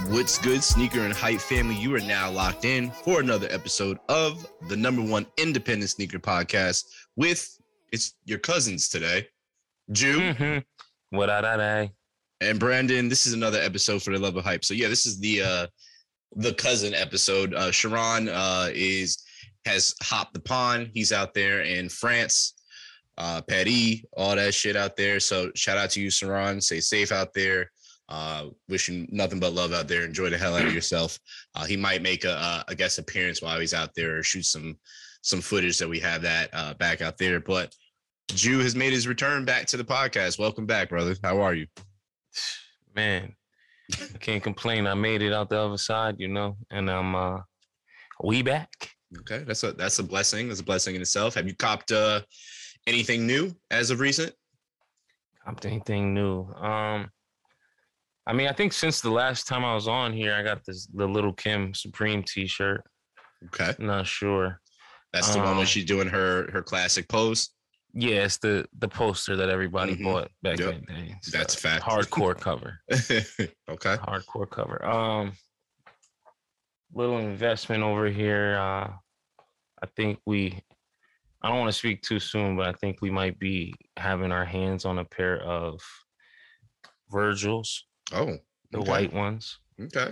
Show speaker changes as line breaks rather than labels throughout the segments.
What's good, sneaker and hype family? You are now locked in for another episode of the #1 independent sneaker podcast with it's your cousins today, Jew.
What I
and Brandon. This is another episode for the love of hype. So yeah, this is the cousin episode. Sharon has hopped the pond. He's out there in France. Patty, all that shit out there. So shout out to you, Sharon. Stay safe out there. Wishing nothing but love out there. Enjoy the hell out of yourself. He might make a guest appearance while he's out there or shoot some footage that we have that back out there. But Jew has made his return back to the podcast. Welcome back, brother. How are you?
Man, I can't complain. I made it out the other side, and I'm we back.
Okay, that's a blessing. That's a blessing in itself. Have you copped anything new as of recent?
Copped anything new? I think since the last time I was on here, I got the Little Kim Supreme T-shirt.
Okay,
I'm not sure.
That's the one when she's doing her classic pose.
Yeah, it's the poster that everybody bought back in the day.
That's fact.
Hardcore cover.
Okay.
Hardcore cover. Little investment over here. I don't want to speak too soon, but I think we might be having our hands on a pair of Virgils.
Oh, okay.
The white ones.
Okay.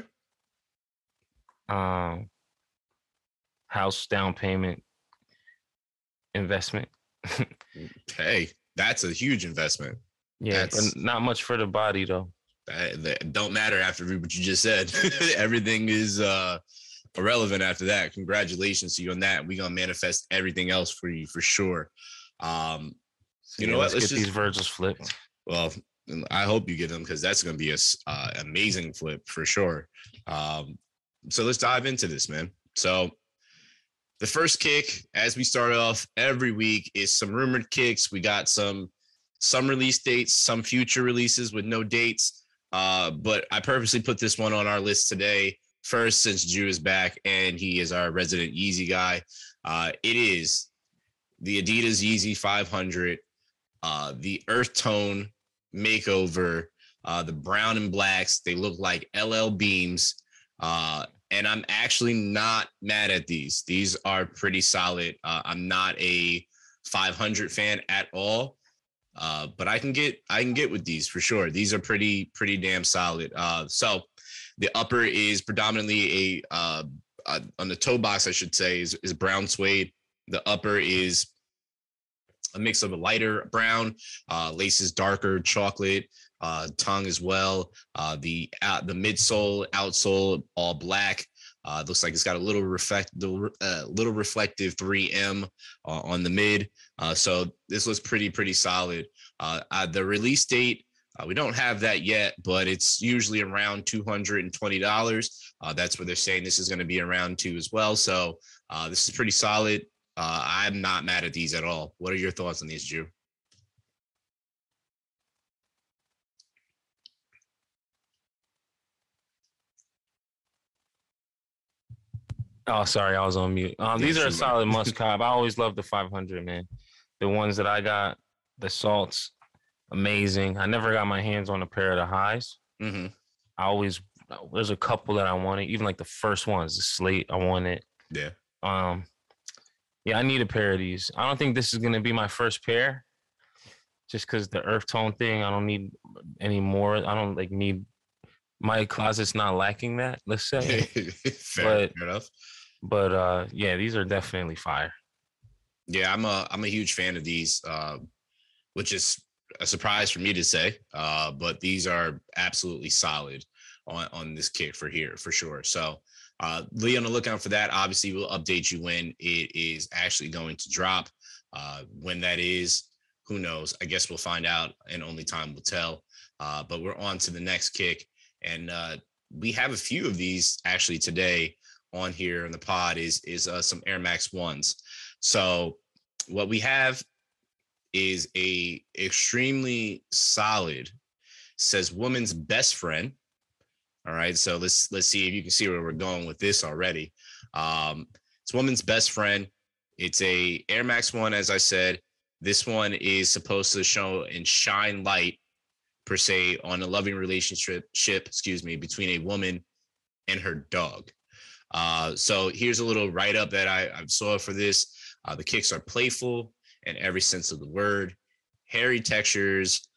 House down payment investment.
Hey, that's a huge investment.
Yeah, but not much for the body though.
That don't matter after what you just said. Everything is irrelevant after that. Congratulations to you on that. We're gonna manifest everything else for you for sure. You know what?
Let's get these Virgils flipped.
Well, I hope you get them because that's gonna be a amazing flip for sure. So let's dive into this, man. So the first kick, as we start off every week, is some rumored kicks. We got some release dates, some future releases with no dates. But I purposely put this one on our list today. First, since Jew is back and he is our resident Yeezy guy, it is the Adidas Yeezy 500, the earth tone makeover, the brown and blacks. They look like LL Beams. And I'm actually not mad at these. These are pretty solid. I'm not a 500 fan at all, but I can get with these for sure. These are pretty damn solid. So the upper is predominantly on the toe box, I should say, is brown suede. The upper is a mix of a lighter brown, laces darker chocolate. Tongue as well. The midsole, outsole, all black. Looks like it's got a little reflective 3M on the mid. So this looks pretty solid. The release date, we don't have that yet, but it's usually around $220. That's what they're saying. This is going to be around too as well. So this is pretty solid. I'm not mad at these at all. What are your thoughts on these, Jew?
Oh, sorry, I was on mute. These are a solid must-have. I always love the 500, man. The ones that I got, the salts, amazing. I never got my hands on a pair of the highs.
Mm-hmm.
There's a couple that I wanted, even like the first ones, the slate, I wanted.
Yeah.
Yeah, I need a pair of these. I don't think this is going to be my first pair, just because the earth tone thing, I don't need any more. I don't need, my closet's not lacking that, let's say.
Fair enough.
But yeah, these are definitely fire.
Yeah, I'm a huge fan of these, which is a surprise for me to say. But these are absolutely solid on this kick for sure. So be on the lookout for that. Obviously, we'll update you when it is actually going to drop. When that is, who knows? I guess we'll find out, and only time will tell. But we're on to the next kick, and we have a few of these actually today on here in the pod. Is some Air Max 1s. So what we have is a extremely solid, says woman's best friend. All right, so let's see if you can see where we're going with this already. It's woman's best friend. It's a Air Max 1, as I said. This one is supposed to show and shine light, per se, on a loving relationship, between a woman and her dog. So here's a little write-up that I saw for this. The kicks are playful in every sense of the word. Hairy textures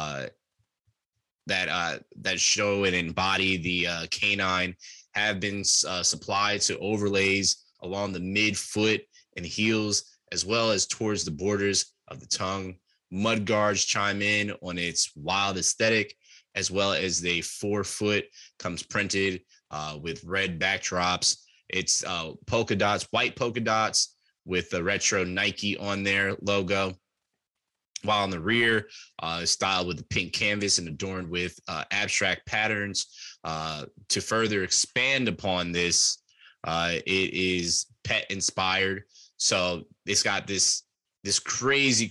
that show and embody the canine have been supplied to overlays along the midfoot and heels, as well as towards the borders of the tongue. Mud guards chime in on its wild aesthetic, as well as the forefoot comes printed with red backdrops. It's polka dots, white polka dots with the retro Nike on their logo. While on the rear, styled with the pink canvas and adorned with abstract patterns. To further expand upon this, it is pet inspired. So it's got this crazy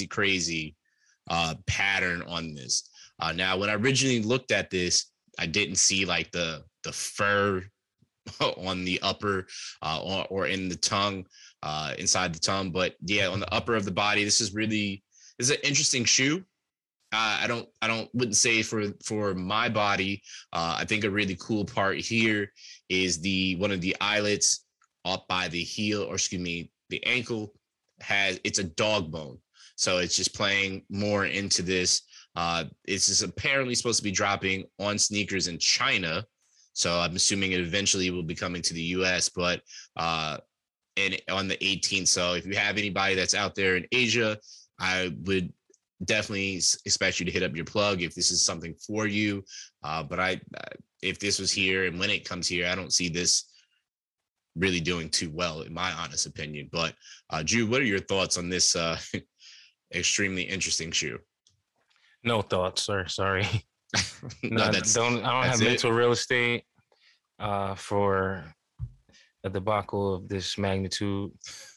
pattern on this. Now, when I originally looked at this, I didn't see like the fur on the upper or in the tongue, inside the tongue. But yeah, on the upper of the body, this is an interesting shoe. I wouldn't say for my body. I think a really cool part here is one of the eyelets up by the heel, or excuse me, the ankle it's a dog bone. So it's just playing more into this. It's just apparently supposed to be dropping on sneakers in China. So I'm assuming it eventually will be coming to the US, but and on the 18th. So if you have anybody that's out there in Asia, I would definitely expect you to hit up your plug if this is something for you. But if this was here and when it comes here, I don't see this really doing too well, in my honest opinion. But Drew, what are your thoughts on this extremely interesting shoe?
No thoughts, sir. Sorry.
No,
I don't have mental real estate for a debacle of this magnitude.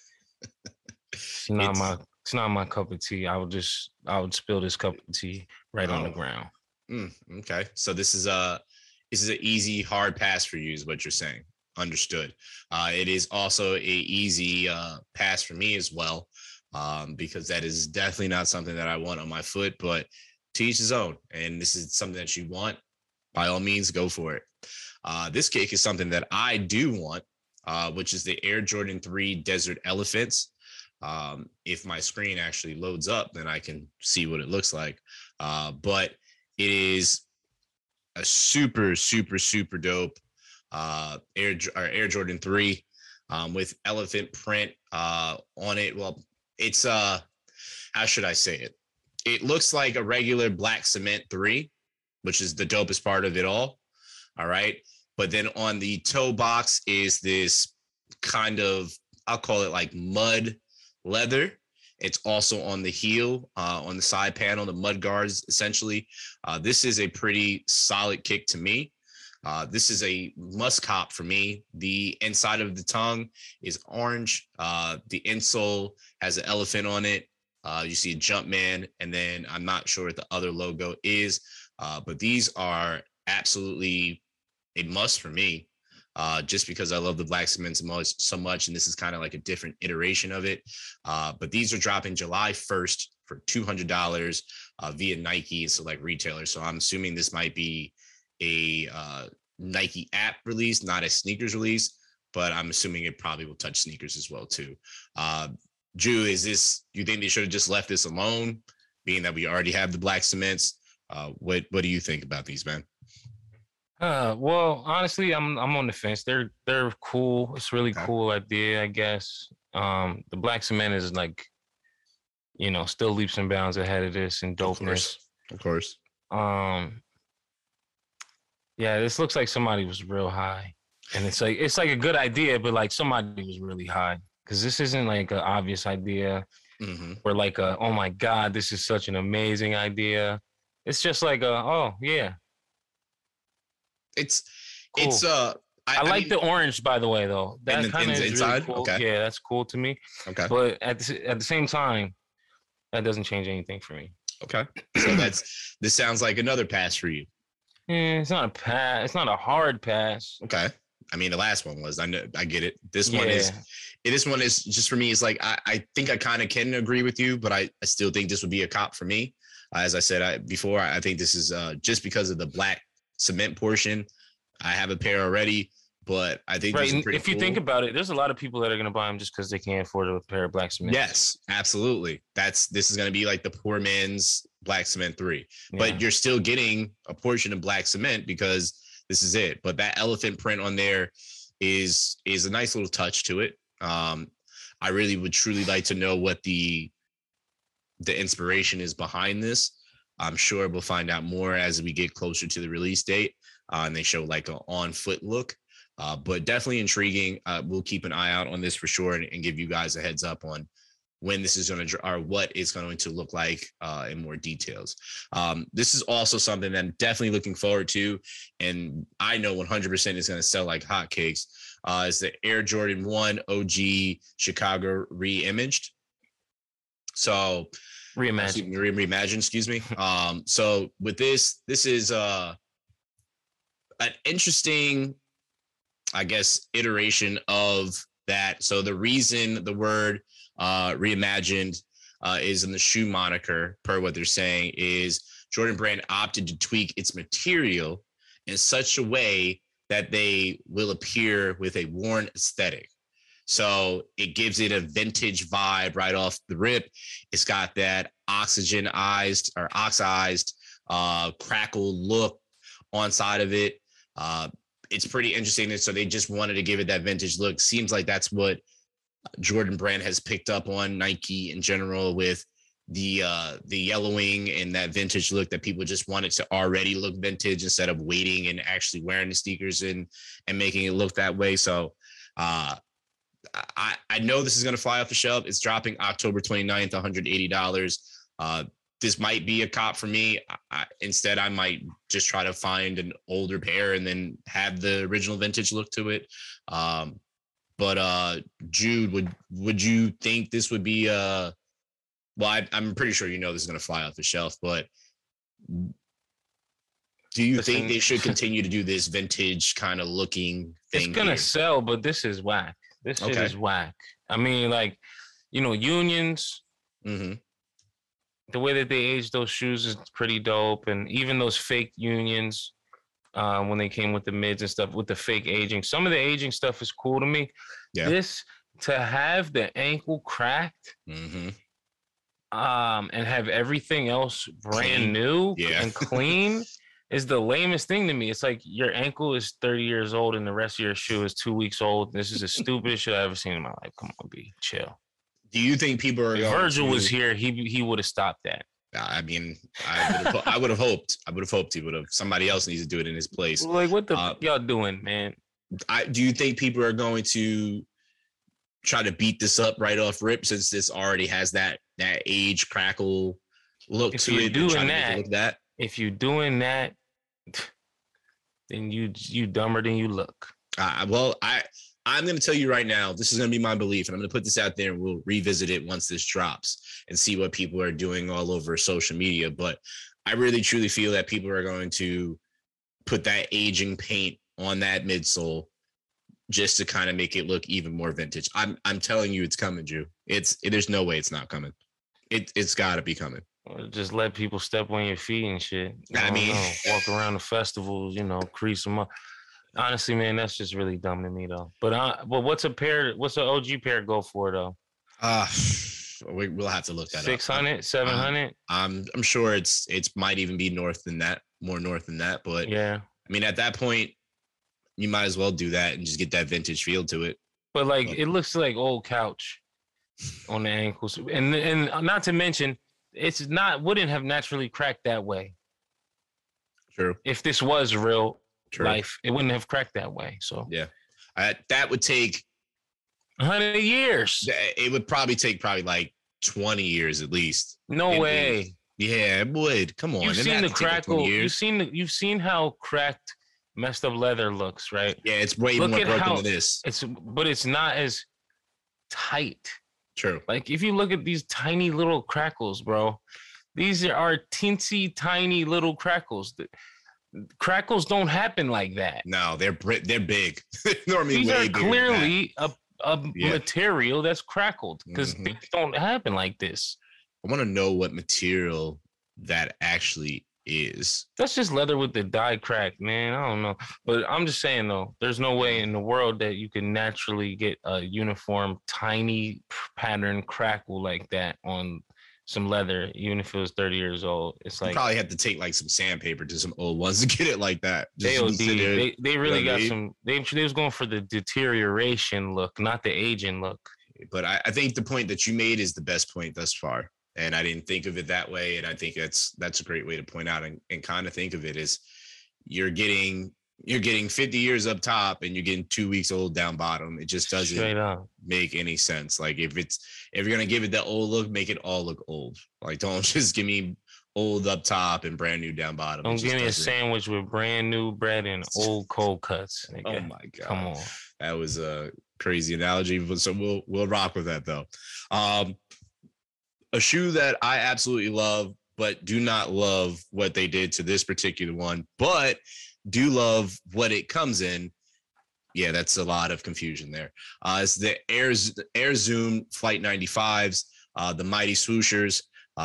It's not my cup of tea. I would spill this cup of tea right on the ground.
Okay, so this is an easy hard pass for you, is what you're saying. Understood. It is also a easy pass for me as well, because that is definitely not something that I want on my foot. But to each his own, and this is something that you want, by all means, go for it. This kick is something that I do want, which is the Air Jordan 3 Desert Elephants. If my screen actually loads up, then I can see what it looks like. But it is a super dope Air Jordan 3 with elephant print on it. Well, it's how should I say it? It looks like a regular black cement 3, which is the dopest part of it all. All right. But then on the toe box is this kind of, I'll call it like mud leather. It's also on the heel, on the side panel, the mud guards, essentially. This is a pretty solid kick to me. This is a must cop for me. The inside of the tongue is orange. The insole has an elephant on it. You see a Jumpman, and then I'm not sure what the other logo is, but these are absolutely a must for me, just because I love the black cement so much, and this is kind of like a different iteration of it. But these are dropping July 1st for $200 via Nike and select retailers. So I'm assuming this might be a Nike app release, not a sneakers release, but I'm assuming it probably will touch sneakers as well too. Drew, you think they should have just left this alone, being that we already have the black cements? What do you think about these, man?
Well, honestly, I'm on the fence. They're cool. It's really cool idea, I guess. The black cement is like, still leaps and bounds ahead of this in dopeness.
Of course.
Yeah, this looks like somebody was real high, and it's like a good idea, but like somebody was really high, because this isn't like an obvious idea, or like oh my God, this is such an amazing idea. It's just like oh yeah.
It's
cool.
It's
I like the orange, by the way, though. That kind of is inside. Really cool. Okay. Yeah, that's cool to me.
Okay.
But at the same time, that doesn't change anything for me.
Okay. So this sounds like another pass for you.
It's not a pass. It's not a hard pass.
Okay. I mean, the last one was. I get it. This one is just for me. It's like I think I kind of can agree with you, but I still think this would be a cop for me. As I said before, I think this is just because of the black cement portion. I have a pair already, but I think
right.
these are pretty
If you think about it, there's a lot of people that are going to buy them just because they can't afford a pair of black cement.
Yes, absolutely. This is going to be like the poor man's black cement 3,
Yeah.
but you're still getting a portion of black cement because this is it. But that elephant print on there is a nice little touch to it. I really would truly like to know what the inspiration is behind this. I'm sure we'll find out more as we get closer to the release date, and they show like an on foot look. But definitely intriguing. We'll keep an eye out on this for sure, and give you guys a heads up on when this is going to, or what it's going to look like in more details. This is also something that I'm definitely looking forward to, and I know 100% is going to sell like hotcakes. Is the Air Jordan 1 OG Chicago reimaged. So reimagined, excuse me. So with this is an interesting, I guess, iteration of that. So the reason the word reimagined is in the shoe moniker, per what they're saying, is Jordan Brand opted to tweak its material in such a way that they will appear with a worn aesthetic. So it gives it a vintage vibe right off the rip. It's got that oxidized crackle look on side of it. It's pretty interesting. So they just wanted to give it that vintage look. Seems like that's what Jordan Brand has picked up on Nike in general, with the yellowing and that vintage look, that people just wanted to already look vintage instead of waiting and actually wearing the sneakers and making it look that way. So I know this is going to fly off the shelf. It's dropping October 29th, $180. This might be a cop for me. Instead, I might just try to find an older pair and then have the original vintage look to it. But Jude, would you think this would be well, I'm pretty sure this is going to fly off the shelf, but do you think they should continue to do this vintage kind of looking thing?
It's going to sell, but this is whack. This shit is whack. I mean, like, Unions, the way that they age those shoes is pretty dope. And even those fake Unions, when they came with the mids and stuff, with the fake aging, some of the aging stuff is cool to me. Yeah. This, to have the ankle cracked, and have everything else brand new and clean is the lamest thing to me. It's like your ankle is 30 years old and the rest of your shoe is 2 weeks old. This is the stupidest shit I've ever seen in my life. Come on, B, chill.
Do you think people are?
If Virgil was here, he would have stopped that.
I mean, I would have hoped. I would have hoped he would have. Somebody else needs to do it in his place.
Like, what the y'all doing, man?
Do you think people are going to try to beat this up right off rip, since this already has that age crackle look to it?
If you're doing that, then you dumber than you look.
Well, I'm going to tell you right now, this is going to be my belief, and I'm going to put this out there, and we'll revisit it once this drops and see what people are doing all over social media. But I really, truly feel that people are going to put that aging paint on that midsole just to kind of make it look even more vintage. I'm telling you, it's coming, Drew. There's no way it's not coming. It's got to be coming.
Just let people step on your feet and shit. I mean, walk around the festivals, crease them up. Honestly, man, that's just really dumb to me, though. But what's an OG pair go for, though?
We'll have to look that
600, up. 700.
I'm sure it's might even be more north than that. But
yeah,
I mean, at that point, you might as well do that and just get that vintage feel to it.
But it looks like old couch on the ankles, and not to mention, wouldn't have naturally cracked that way.
True.
If this was real life, it wouldn't have cracked that way. So
yeah, that would take
100 years.
It would probably take like 20 years at least.
No way.
Yeah, it would. Come on.
You've seen the crackle. You've seen how cracked, messed up leather looks, right?
Yeah, it's way more broken than this.
But it's not as tight.
True.
Like, if you look at these tiny little crackles, bro, these are teensy tiny little crackles. Crackles don't happen like that.
No, they're big. Normally,
these are clearly a material that's crackled, because things don't happen like this.
I want to know what material that actually is.
That's just leather with the die crack, man. I don't know. But I'm just saying, though, there's no way in the world that you can naturally get a uniform, tiny pattern crackle like that on some leather, even if it was 30 years old. It's
You
like
probably have to take like some sandpaper to some old ones to get it like that. Just
they
to be sitting there,
they really
you know what I
got
mean?
some. They was going for the deterioration look, not the aging look.
But I think the point that you made is the best point thus far. And I didn't think of it that way. And I think that's a great way to point out and kind of think of it as you're getting 50 years up top and you're getting 2 weeks old down bottom. It just
Straight
doesn't
up.
make any sense. Like if you're gonna give it that old look, make it all look old. Like don't just give me old up top and brand new down bottom.
Don't give me a sandwich with brand new bread and old cold cuts. Nigga.
Oh my god.
Come on.
That was a crazy analogy, but so we'll rock with that though. A shoe that I absolutely love, but do not love what they did to this particular one, but do love what it comes in. Yeah, that's a lot of confusion there. It's the Air Zoom Flight 95s, the Mighty Swooshers,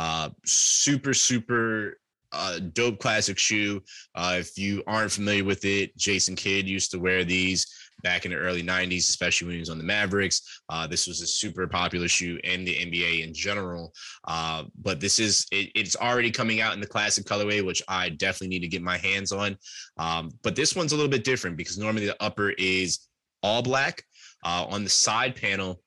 super dope classic shoe. If you aren't familiar with it, Jason Kidd used to wear these back in the early 90s, especially when he was on the Mavericks. This was a super popular shoe in the NBA in general. But it's already coming out in the classic colorway, which I definitely need to get my hands on. But this one's a little bit different because normally the upper is all black. On the side panel,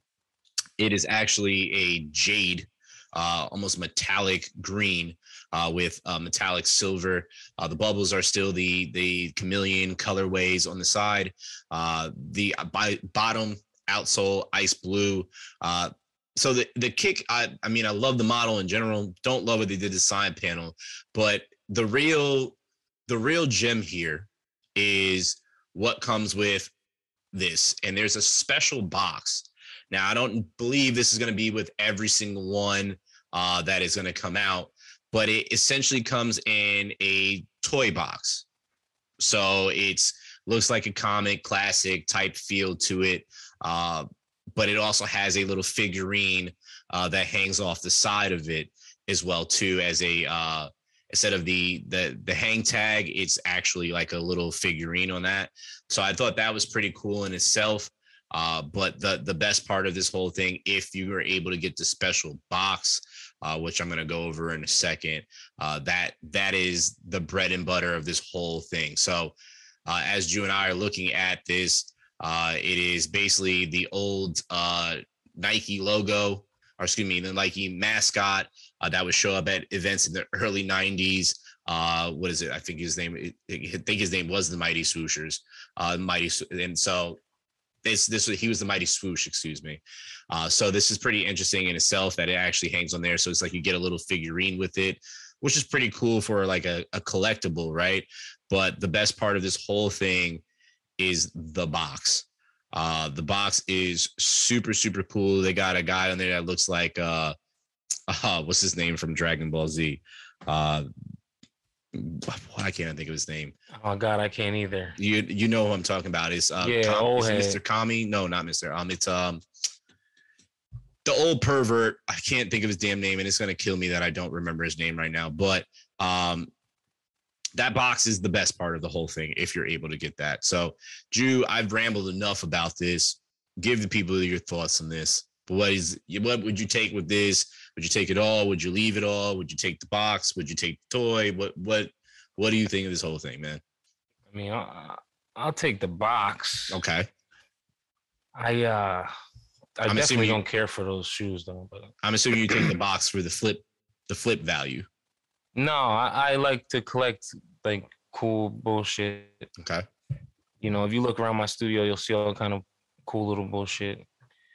it is actually a jade, almost metallic green with metallic silver. The bubbles are still the chameleon colorways on the side. The bottom outsole ice blue. So the kick, I mean, I love the model in general. Don't love what they did to the side panel, but the real gem here is what comes with this. And there's a special box. Now, I don't believe this is going to be with every single one that is going to come out, but it essentially comes in a toy box. So looks like a comic classic type feel to it. But it also has a little figurine that hangs off the side of it as well too, as a instead of the hang tag, it's actually like a little figurine on that. So I thought that was pretty cool in itself. But the best part of this whole thing, if you were able to get the special box, which I'm going to go over in a second, that is the bread and butter of this whole thing. So as Drew and I are looking at this, it is basically the old Nike logo, or excuse me, the Nike mascot that would show up at events in the early 90s. What is it? I think his name was the Mighty Swooshers. And so he was the Mighty Swoosh, excuse me. So this is pretty interesting in itself that it actually hangs on there. So it's like you get a little figurine with it, which is pretty cool for like a collectible, right? But the best part of this whole thing is the box. The box is super cool. They got a guy on there that looks like what's his name from Dragon Ball Z? Why can't I think of his name?
Oh God, I can't either.
You know who I'm talking about? Is Mr. Kami? No, not Mr. It's the old pervert. I can't think of his damn name, and it's gonna kill me that I don't remember his name right now. But that box is the best part of the whole thing if you're able to get that. So, Drew, I've rambled enough about this. Give the people your thoughts on this. But what would you take with this? Would you take it all? Would you leave it all? Would you take the box? Would you take the toy? What do you think of this whole thing, man?
I mean, I'll take the box.
Okay.
I definitely don't care for those shoes though. But
I'm assuming you take the box for the flip value.
No, I like to collect like cool bullshit.
Okay.
You know, if you look around my studio, you'll see all kind of cool little bullshit.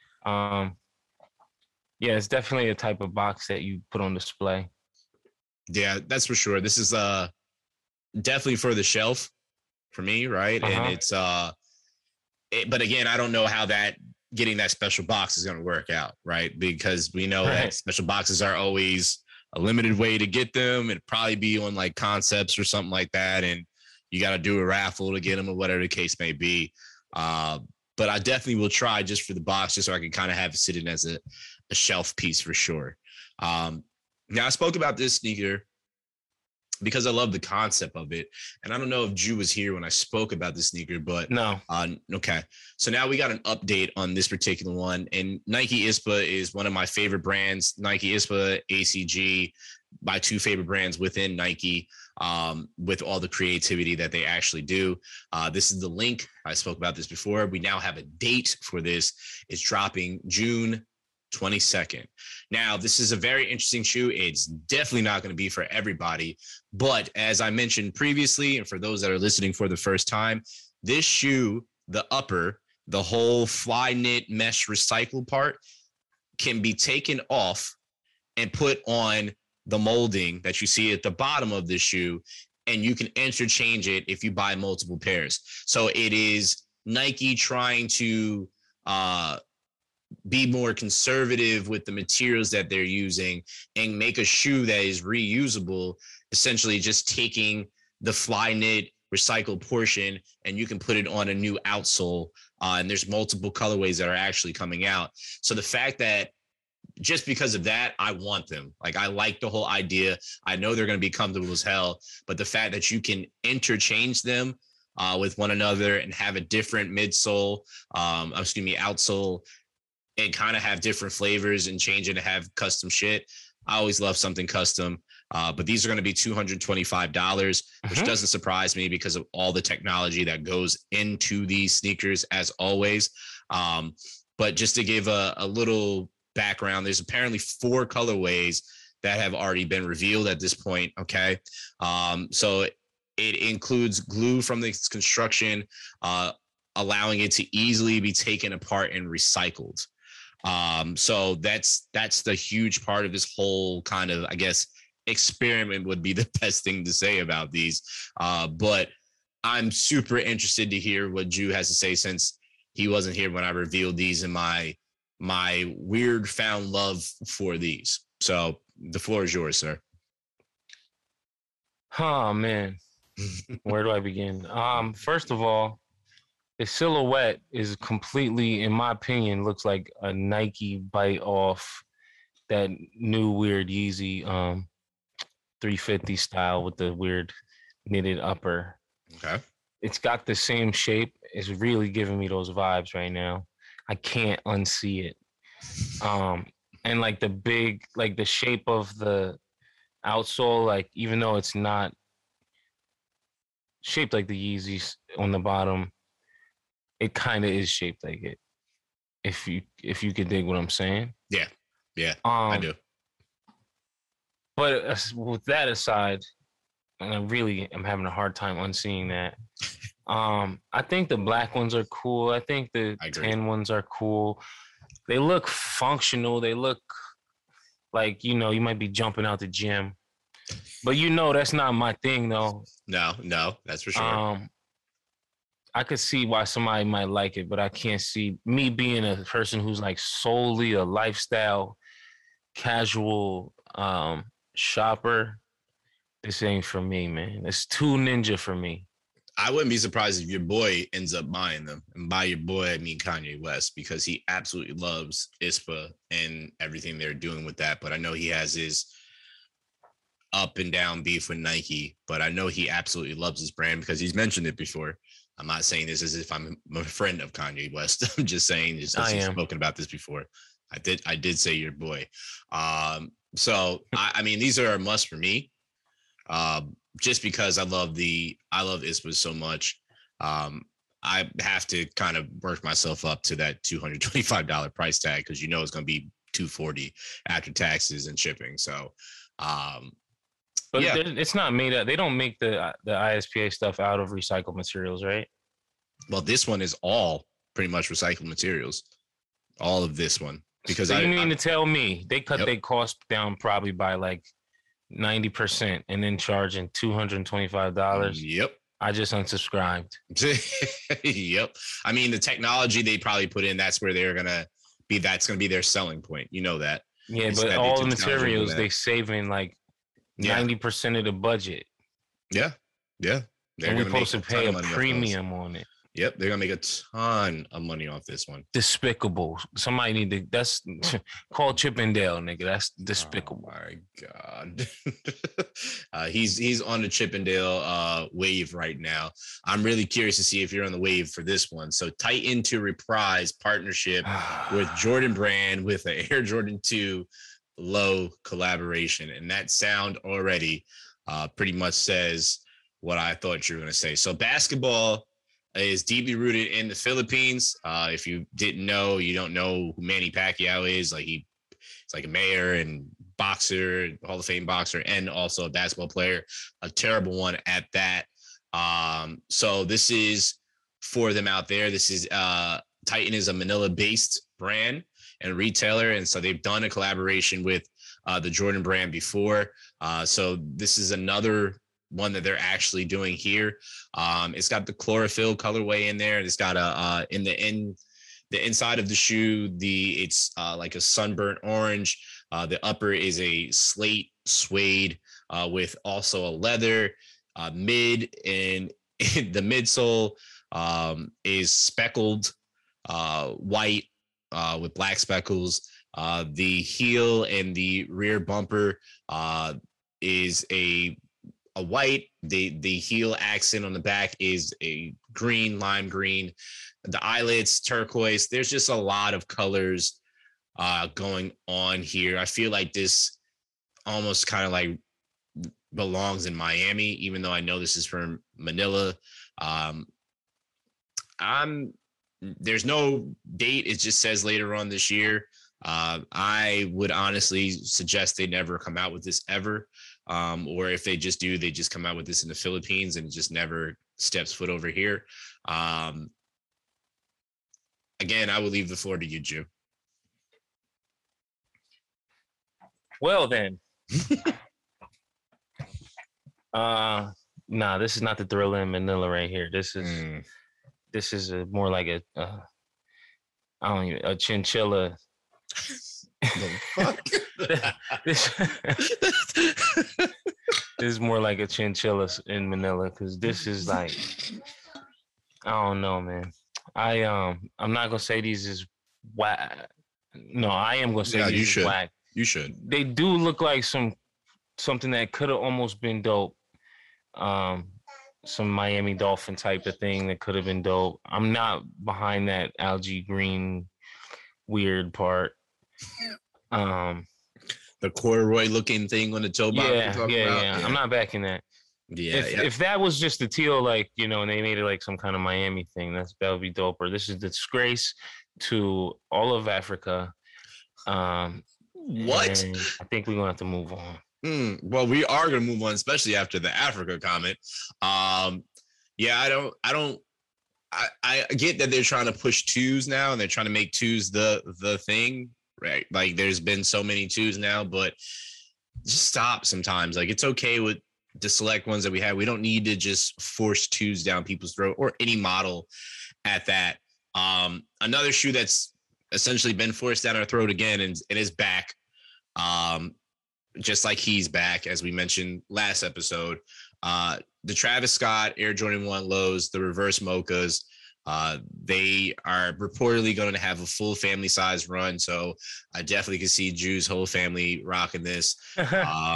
Yeah, it's definitely a type of box that you put on display.
Yeah, that's for sure. This is definitely for the shelf for me, right?
Uh-huh.
And it's but again, I don't know how getting that special box is going to work out, right? Because we know that special boxes are always a limited way to get them. It'd probably be on like Concepts or something like that, and you got to do a raffle to get them or whatever the case may be. But I definitely will try just for the box, just so I can kind of have it sitting as a shelf piece for sure. Now I spoke about this sneaker because I love the concept of it. And I don't know if Drew was here when I spoke about the sneaker, but
No.
Okay. So now we got an update on this particular one. And Nike ISPA is one of my favorite brands. Nike ISPA, ACG, my two favorite brands within Nike, with all the creativity that they actually do. This is the link. I spoke about this before. We now have a date for this. It's dropping June 22nd. Now, this is a very interesting shoe. It's definitely not going to be for everybody. But as I mentioned previously, and for those that are listening for the first time, this shoe, the upper, the whole fly knit mesh recycle part can be taken off and put on the molding that you see at the bottom of the shoe, and you can interchange it if you buy multiple pairs. So it is Nike trying to be more conservative with the materials that they're using and make a shoe that is reusable, essentially just taking the fly knit recycled portion and you can put it on a new outsole. And there's multiple colorways that are actually coming out. So the fact that just because of that, I want them. Like, I like the whole idea. I know they're going to be comfortable as hell, but the fact that you can interchange them with one another and have a different midsole, outsole, and kind of have different flavors and change it to have custom shit. I always love something custom, but these are going to be $225, which doesn't surprise me because of all the technology that goes into these sneakers, as always. But just to give a little background, there's apparently 4 colorways that have already been revealed at this point. Okay. So it includes glue from its construction, allowing it to easily be taken apart and recycled. So that's the huge part of this whole kind of, I guess, experiment would be the best thing to say about these. But I'm super interested to hear what Drew has to say, since he wasn't here when I revealed these and my weird found love for these. So the floor is yours, sir.
Oh man, where do I begin? First of all, the silhouette is completely, in my opinion, looks like a Nike bite off that new weird Yeezy 350 style with the weird knitted upper.
Okay.
It's got the same shape. It's really giving me those vibes right now. I can't unsee it. And like the shape of the outsole, like, even though it's not shaped like the Yeezys on the bottom, it kind of is shaped like it. If you could dig what I'm saying.
Yeah, I do.
But with that aside, and I really am having a hard time unseeing that. I think the black ones are cool. I think the tan ones are cool. They look functional. They look like, you might be jumping out the gym. But that's not my thing, though.
No, that's for sure.
I could see why somebody might like it, but I can't see me being a person who's like solely a lifestyle, casual shopper. This ain't for me, man. It's too ninja for me.
I wouldn't be surprised if your boy ends up buying them. And by your boy, I mean Kanye West, because he absolutely loves ISPA and everything they're doing with that. But I know he has his up and down beef with Nike, but I know he absolutely loves his brand because he's mentioned it before. I'm not saying this as if I'm a friend of Kanye West. I'm just saying, just as he's spoken about this before. I did say your boy. So I mean, these are a must for me. Just because I love ISPA so much. I have to kind of work myself up to that $225 price tag, because it's going to be $240 after taxes and shipping. So,
but yeah, it's not made up. They don't make the ISPA stuff out of recycled materials, right?
Well, this one is all pretty much recycled materials. All of this one, because
so you mean to tell me they cut their cost down probably by like 90% and then charging $225?
Yep.
I just unsubscribed.
Yep. I mean, the technology they probably put in, that's where they're gonna be. That's gonna be their selling point. You know that.
Yeah, but all the materials they saving like 90% of the budget.
Yeah.
And we're supposed to pay a premium on it.
Yep, they're gonna make a ton of money off this one.
Despicable. Somebody need to. That's call Chippendale, nigga. That's despicable.
Oh my god. He's on the Chippendale wave right now. I'm really curious to see if you're on the wave for this one. So Titan to Reprise partnership with Jordan Brand with an Air Jordan 2 low collaboration, and that sound already pretty much says what I thought you were going to say. So basketball is deeply rooted in the Philippines. If you didn't know, you don't know who Manny Pacquiao is. Like he's like a mayor and boxer, Hall of Fame boxer, and also a basketball player, a terrible one at that. So this is for them out there. This is Titan is a Manila-based brand and retailer, and so they've done a collaboration with the Jordan Brand before. So this is another one that they're actually doing here. It's got the chlorophyll colorway in there. It's got a the inside of the shoe, it's like a sunburnt orange. The upper is a slate suede with also a leather. Mid and the midsole is speckled white with black speckles. The heel and the rear bumper is a white. The heel accent on the back is a green, lime green. The eyelets turquoise. There's just a lot of colors going on here. I feel like this almost kind of like belongs in Miami, even though I know this is from Manila. There's no date. It just says later on this year. I would honestly suggest they never come out with this ever. Or if they just do, they just come out with this in the Philippines and just never steps foot over here. Again, I will leave the floor to you, Jew.
Well then. Nah, this is not the Thriller in Manila right here. This is more like a chinchilla.
The fuck?
This is more like a chinchilla in Manila, because this is like, I don't know, man. I'm not gonna say these is whack. No, I am gonna say these is whack.
You should.
They do look like something that could have almost been dope. Some Miami Dolphin type of thing that could have been dope. I'm not behind that algae green weird part.
The corduroy looking thing on the toe box.
Yeah. I'm not backing that. If that was just the teal, like, you know, and they made it like some kind of Miami thing, that would be dope. Or this is a disgrace to all of Africa.
What?
I think we're gonna have to move on.
Well, we are gonna move on, especially after the Africa comment. I get that they're trying to push twos now, and they're trying to make twos the thing, right? Like, there's been so many twos now, but just stop sometimes. Like, it's okay with the select ones that we have. We don't need to just force twos down people's throat, or any model at that. Another shoe that's essentially been forced down our throat again, and it is back. Just like he's back, as we mentioned last episode. The Travis Scott Air Jordan 1 lows, the reverse mochas, they are reportedly going to have a full family size run. So I definitely can see Drew's whole family rocking this. They're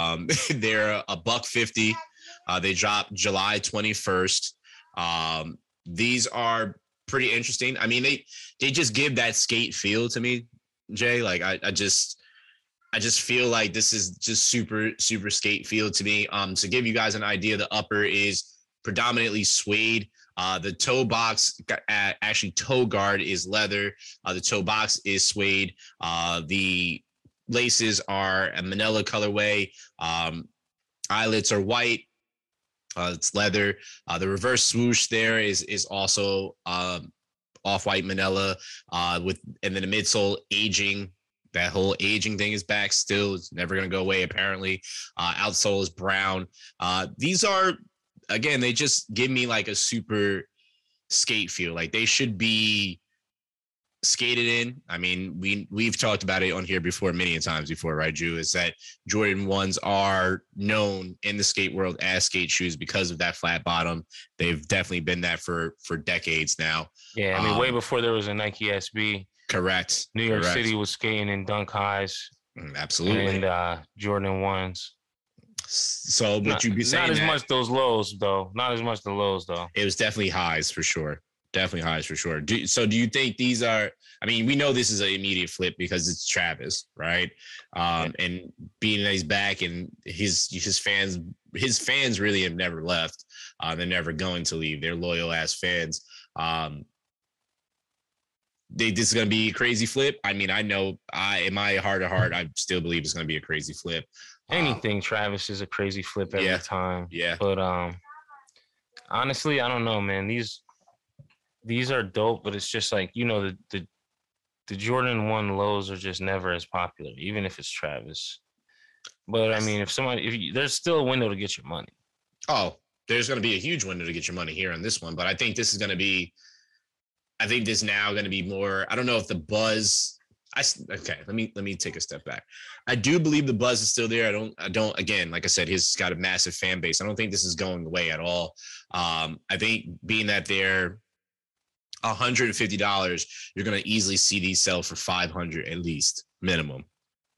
$150. They dropped July 21st. These are pretty interesting. I mean, they just give that skate feel to me, Jay. Like I just feel like this is just super, super skate feel to me. To give you guys an idea, the upper is predominantly suede. The toe box, actually toe guard, is leather. The toe box is suede. The laces are a Manila colorway. Eyelets are white. It's leather. The reverse swoosh there is also off-white Manila, and then the midsole aging. That whole aging thing is back still. It's never going to go away, apparently. Outsole is brown. These are, again, they just give me like a super skate feel. Like, they should be skated in. I mean, we've talked about it on here before many times before, right, Drew? Is that Jordan 1s are known in the skate world as skate shoes because of that flat bottom. They've definitely been that for decades now.
Yeah, I mean, way before there was a Nike SB.
Correct.
New York City was skating in Dunk Highs.
Absolutely.
And Jordan 1s.
So would you be saying
not as much those lows, though? Not as much the lows, though.
It was definitely highs for sure. Definitely highs for sure. Do you think these are? I mean, we know this is an immediate flip because it's Travis, right? And being that he's back and his fans really have never left. They're never going to leave. They're loyal ass fans. This is going to be a crazy flip. I mean, I know in my heart of heart, I still believe it's going to be a crazy flip.
Anything Travis is a crazy flip every time.
Yeah.
But honestly, I don't know, man. These are dope, but it's just like, you know, the Jordan 1 lows are just never as popular, even if it's Travis. But I mean, there's still a window to get your money.
Oh, there's going to be a huge window to get your money here on this one. But I think this is going to be, now going to be more, I don't know if the buzz, okay, let me take a step back. I do believe the buzz is still there. I don't, again, like I said, he's got a massive fan base. I don't think this is going away at all. I think being that they're $150, you're going to easily see these sell for $500 at least, minimum.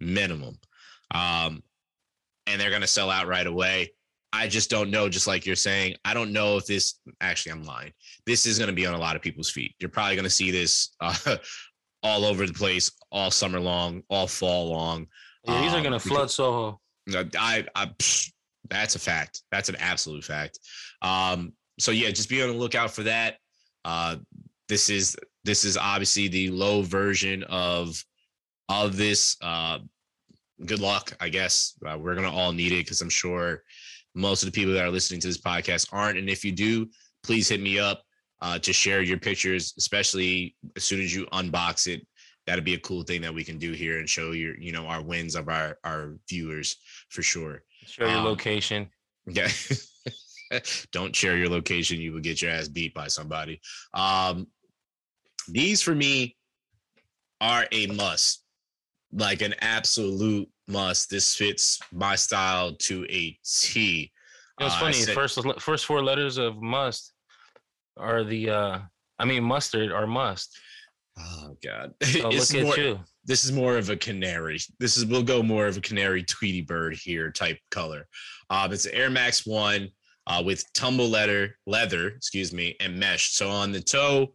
And they're going to sell out right away. I just don't know, just like you're saying. I don't know if this, actually, I'm lying. This is going to be on a lot of people's feet. You're probably going to see this all over the place, all summer long, all fall long.
Yeah, these are going to flood Soho.
That's a fact. That's an absolute fact. So yeah, just be on the lookout for that. This is obviously the low version of this. Good luck, I guess. We're gonna all need it because I'm sure most of the people that are listening to this podcast aren't. And if you do, please hit me up to share your pictures, especially as soon as you unbox it. That'd be a cool thing that we can do here and show our wins of our viewers for sure.
Share your location.
Yeah. Don't share your location. You will get your ass beat by somebody. These for me are a must, like an absolute must. This fits my style to a T.
It's funny. First four letters of must are mustard or must.
Oh God!
So look at you.
This is more of a canary. We'll go more of a canary Tweety bird here type color. It's an Air Max 1 with tumble leather, and mesh. So on the toe,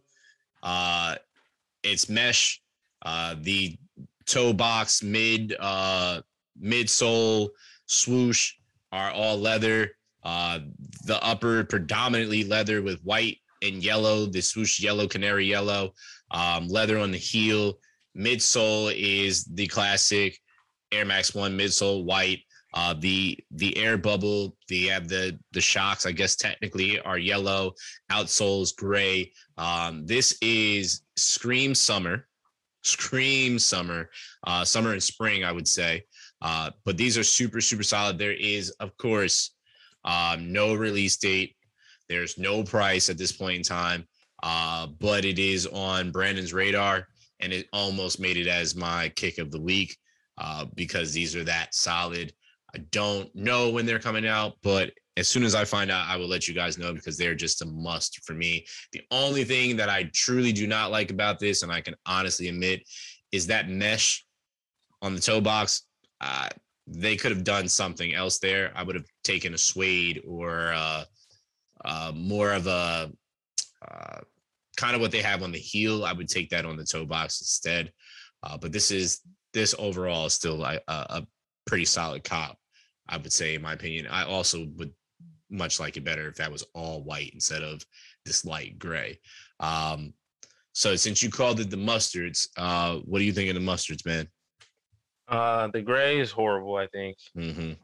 it's mesh. The toe box, midsole, swoosh are all leather. The upper predominantly leather with white and yellow. The swoosh yellow, canary yellow. Leather on the heel. Midsole is the classic Air Max 1 midsole, white. The air bubble, the shocks, I guess technically are yellow. Outsole is gray. This is Scream Summer, summer and spring, I would say. But these are super, super solid. There is, of course, no release date. There's no price at this point in time. But it is on Brandon's radar, and it almost made it as my kick of the week because these are that solid. I don't know when they're coming out, but as soon as I find out, I will let you guys know because they're just a must for me. The only thing that I truly do not like about this, and I can honestly admit, is that mesh on the toe box. They could have done something else there. I would have taken a suede or more of a kind of what they have on the heel. I would take that on the toe box instead. But this overall is still a pretty solid cop, I would say, in my opinion. I also would much like it better if that was all white instead of this light gray. So since you called it the mustards, what do you think of the mustards, man?
The gray is horrible, I think.
Mm-hmm.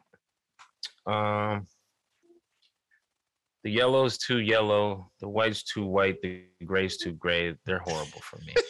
The yellow is too yellow. The white's too white. The gray's too gray. They're horrible for me.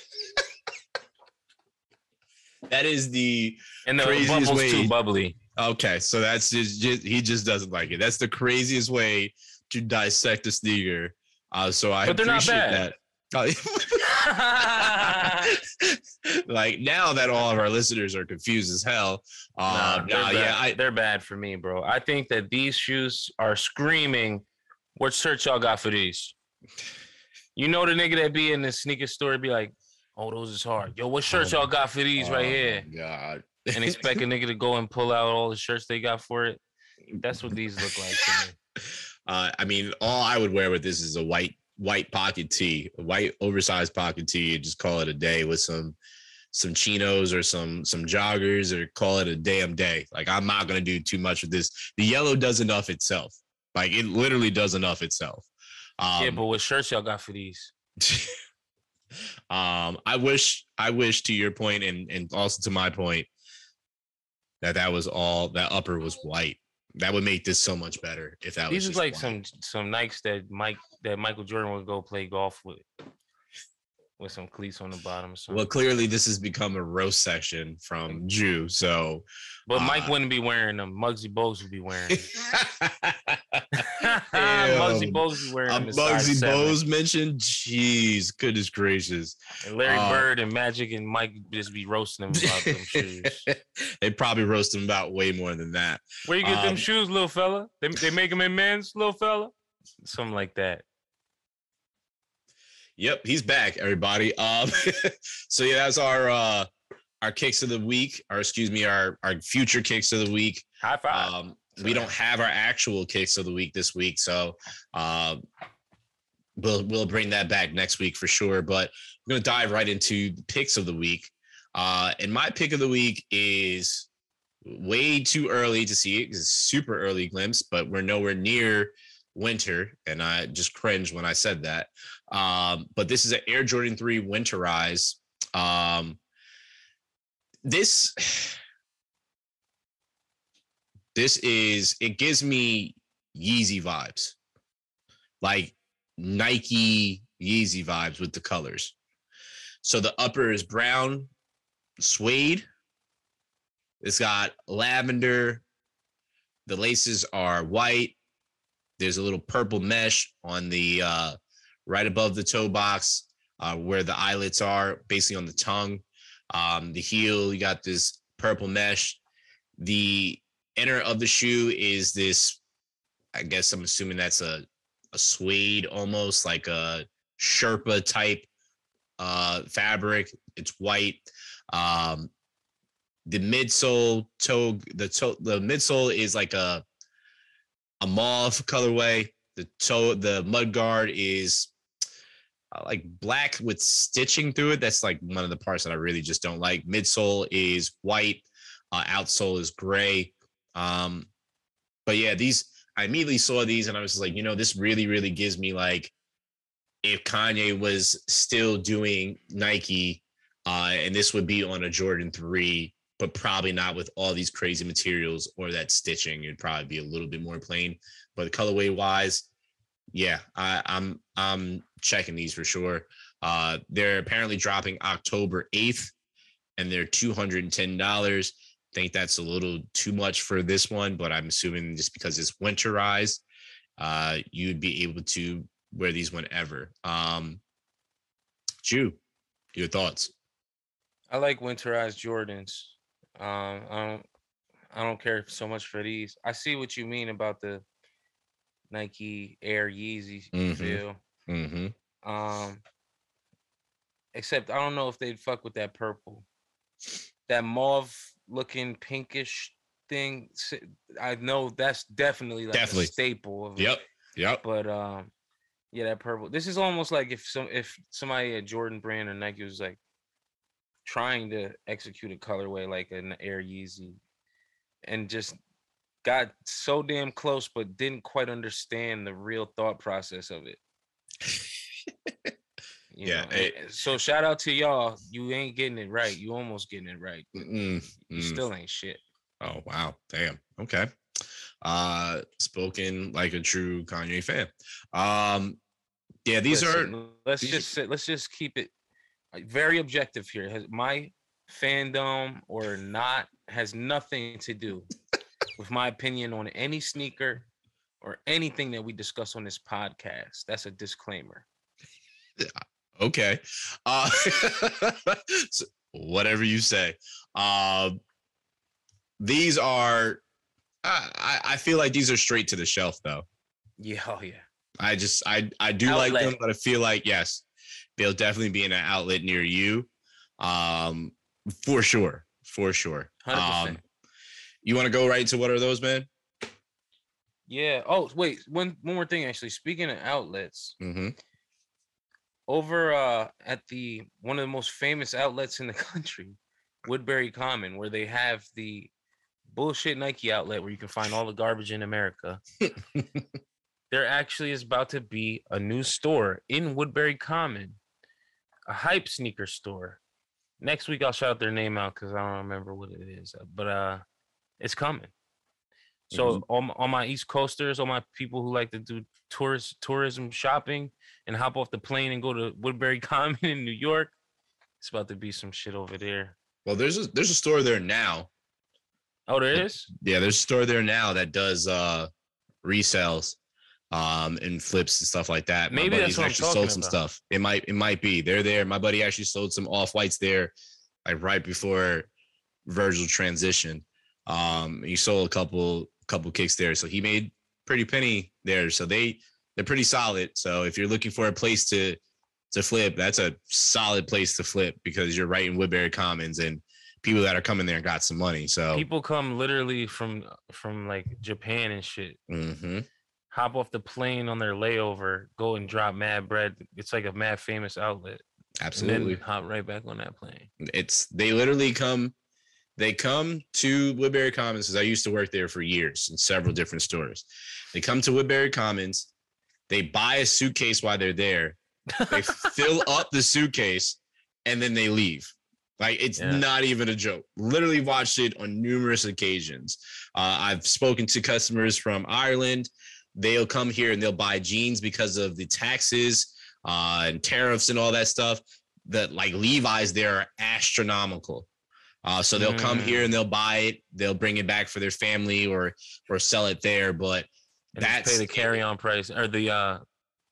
That is the
craziest bubble's way. Too bubbly.
Okay, so that's just he just doesn't like it. That's the craziest way to dissect a sneaker. So I
but they're
appreciate
not bad.
that. Like now that all of our listeners are confused as hell.
They're bad for me, bro. I think that these shoes are screaming, what shirt y'all got for these? You know the nigga that be in the sneaker store be like, oh, those is hard. Yo, what shirts y'all got for these right here?
God.
And expect a nigga to go and pull out all the shirts they got for it. That's what these look like to me.
I mean, all I would wear with this is a white pocket tee, a white oversized pocket tee, and just call it a day with some chinos or some joggers, or call it a damn day. Like, I'm not gonna do too much with this. The yellow does enough itself. Like, it literally does enough itself.
Yeah, but what shirts y'all got for these?
I wish to your point and also to my point that was all, that upper was white. That would make this so much better if that
these
was
is like
white.
some Nikes that Michael Jordan would go play golf with some cleats on the bottom or something.
Well, clearly this has become a roast section from Jew. So,
but Mike wouldn't be wearing them. Muggsy Bogues would be wearing them. Muggsy Bogues be wearing them.
Muggsy Bogues mentioned? Jeez, goodness gracious.
And Larry Bird and Magic and Mike just be roasting them about them shoes.
They probably roast them about way more than that.
Where you get them shoes, little fella? They make them in men's, little fella? Something like that.
Yep, he's back, everybody. So yeah, that's our kicks of the week, or excuse me, our future kicks of the week.
High five.
We don't have our actual kicks of the week this week, so we'll bring that back next week for sure. But we're gonna dive right into the picks of the week. And my pick of the week is way too early to see it because it's super early glimpse, but we're nowhere near winter, and I just cringed when I said that. But this is an Air Jordan 3 Winterize. This gives me Yeezy vibes, like Nike Yeezy vibes with the colors. So the upper is brown suede. It's got lavender. The laces are white. There's a little purple mesh on the right above the toe box where the eyelets are, basically on the tongue. The heel, you got this purple mesh. The inner of the shoe is this, I guess I'm assuming that's a suede, almost like a Sherpa type fabric. It's white. The midsole the midsole is like a mauve colorway. The mud guard is like black with stitching through it. That's like one of the parts that I really just don't like. Midsole is white. Outsole is gray. But yeah, I immediately saw these and I was like, this really, really gives me like if Kanye was still doing Nike, and this would be on a Jordan 3, but probably not with all these crazy materials or that stitching. It'd probably be a little bit more plain. But colorway wise, yeah, I'm checking these for sure. They're apparently dropping October 8th, and they're $210. I think that's a little too much for this one, but I'm assuming just because it's winterized, you'd be able to wear these whenever. Ju, your thoughts?
I like winterized Jordans. I don't care so much for these. I see what you mean about the Nike Air Yeezy feel.
Mm-hmm.
Except I don't know if they'd fuck with that purple, that mauve looking pinkish thing. I know that's definitely like a staple of it.
Yep.
But yeah, that purple. This is almost like if somebody at Jordan Brand or Nike was like trying to execute a colorway like an Air Yeezy and just got so damn close but didn't quite understand the real thought process of it. You know? So shout out to y'all. You ain't getting it right. You almost getting it right. You still ain't shit.
Oh wow. Damn. Okay. Spoken like a true Kanye fan. Yeah, let's
just keep it very objective here. Has my fandom or not has nothing to do with my opinion on any sneaker or anything that we discuss on this podcast. That's a disclaimer.
Okay. So whatever you say. These are, I feel like these are straight to the shelf though.
Yeah, oh yeah.
I do
Outlet.
like them, but I feel like, yes, they'll definitely be in an outlet near you. For sure. For sure.
100%.
You want to go right into what are those, man?
Yeah. Oh, wait. One more thing, actually. Speaking of outlets,
Mm-hmm.
over at the one of the most famous outlets in the country, Woodbury Common, where they have the bullshit Nike outlet where you can find all the garbage in America. There actually is about to be a new store in Woodbury Common, a hype sneaker store. Next week I'll shout their name out because I don't remember what it is, but it's coming. So all my East Coasters, all my people who like to do tourism shopping and hop off the plane and go to Woodbury Common in New York, it's about to be some shit over there.
Well, there's a store there now.
Oh, there is?
Yeah, there's a store there now that does resales and flips and stuff like that.
Maybe
my
that's
buddy's
what I'm
actually
talking
sold some
about.
stuff. It might be. They're there. My buddy actually sold some off-whites there, like right before Virgil transition. He sold a couple kicks there. So he made pretty penny there. So they're pretty solid. So if you're looking for a place to flip, that's a solid place to flip because you're right in Woodbury Commons and people that are coming there got some money. So
People come literally from like Japan and shit.
mm-hmm.
Hop off the plane on their layover, go and drop mad bread. It's like a mad famous outlet.
Absolutely.
And then hop right back on that plane.
They literally come to Woodbury Commons because I used to work there for years in several different stores. They come to Woodbury Commons, they buy a suitcase while they're there, they fill up the suitcase, and then they leave. Like, it's not even a joke. Literally watched it on numerous occasions. I've spoken to customers from Ireland. They'll come here and they'll buy jeans because of the taxes and tariffs and all that stuff. That like Levi's there are astronomical. So they'll come here and they'll buy it. They'll bring it back for their family or sell it there. But
And
that's
pay the carry-on price or the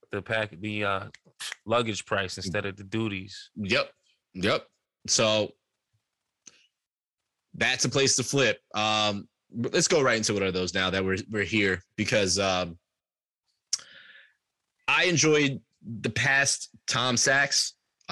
luggage price instead of the duties.
Yep. So that's a place to flip. Let's go right into what are those now that we're here because I enjoyed the past Tom Sachs.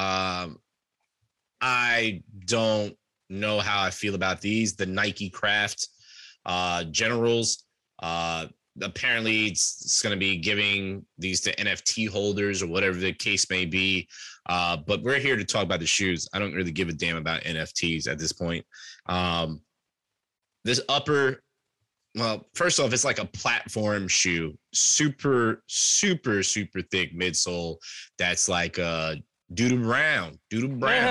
I don't know how I feel about these. The Nike Craft Generals. Apparently it's going to be giving these to NFT holders or whatever the case may be. But we're here to talk about the shoes. I don't really give a damn about NFTs at this point. This upper, well, first off, it's like a platform shoe, super, super, super thick midsole. That's like Doodle Brown. The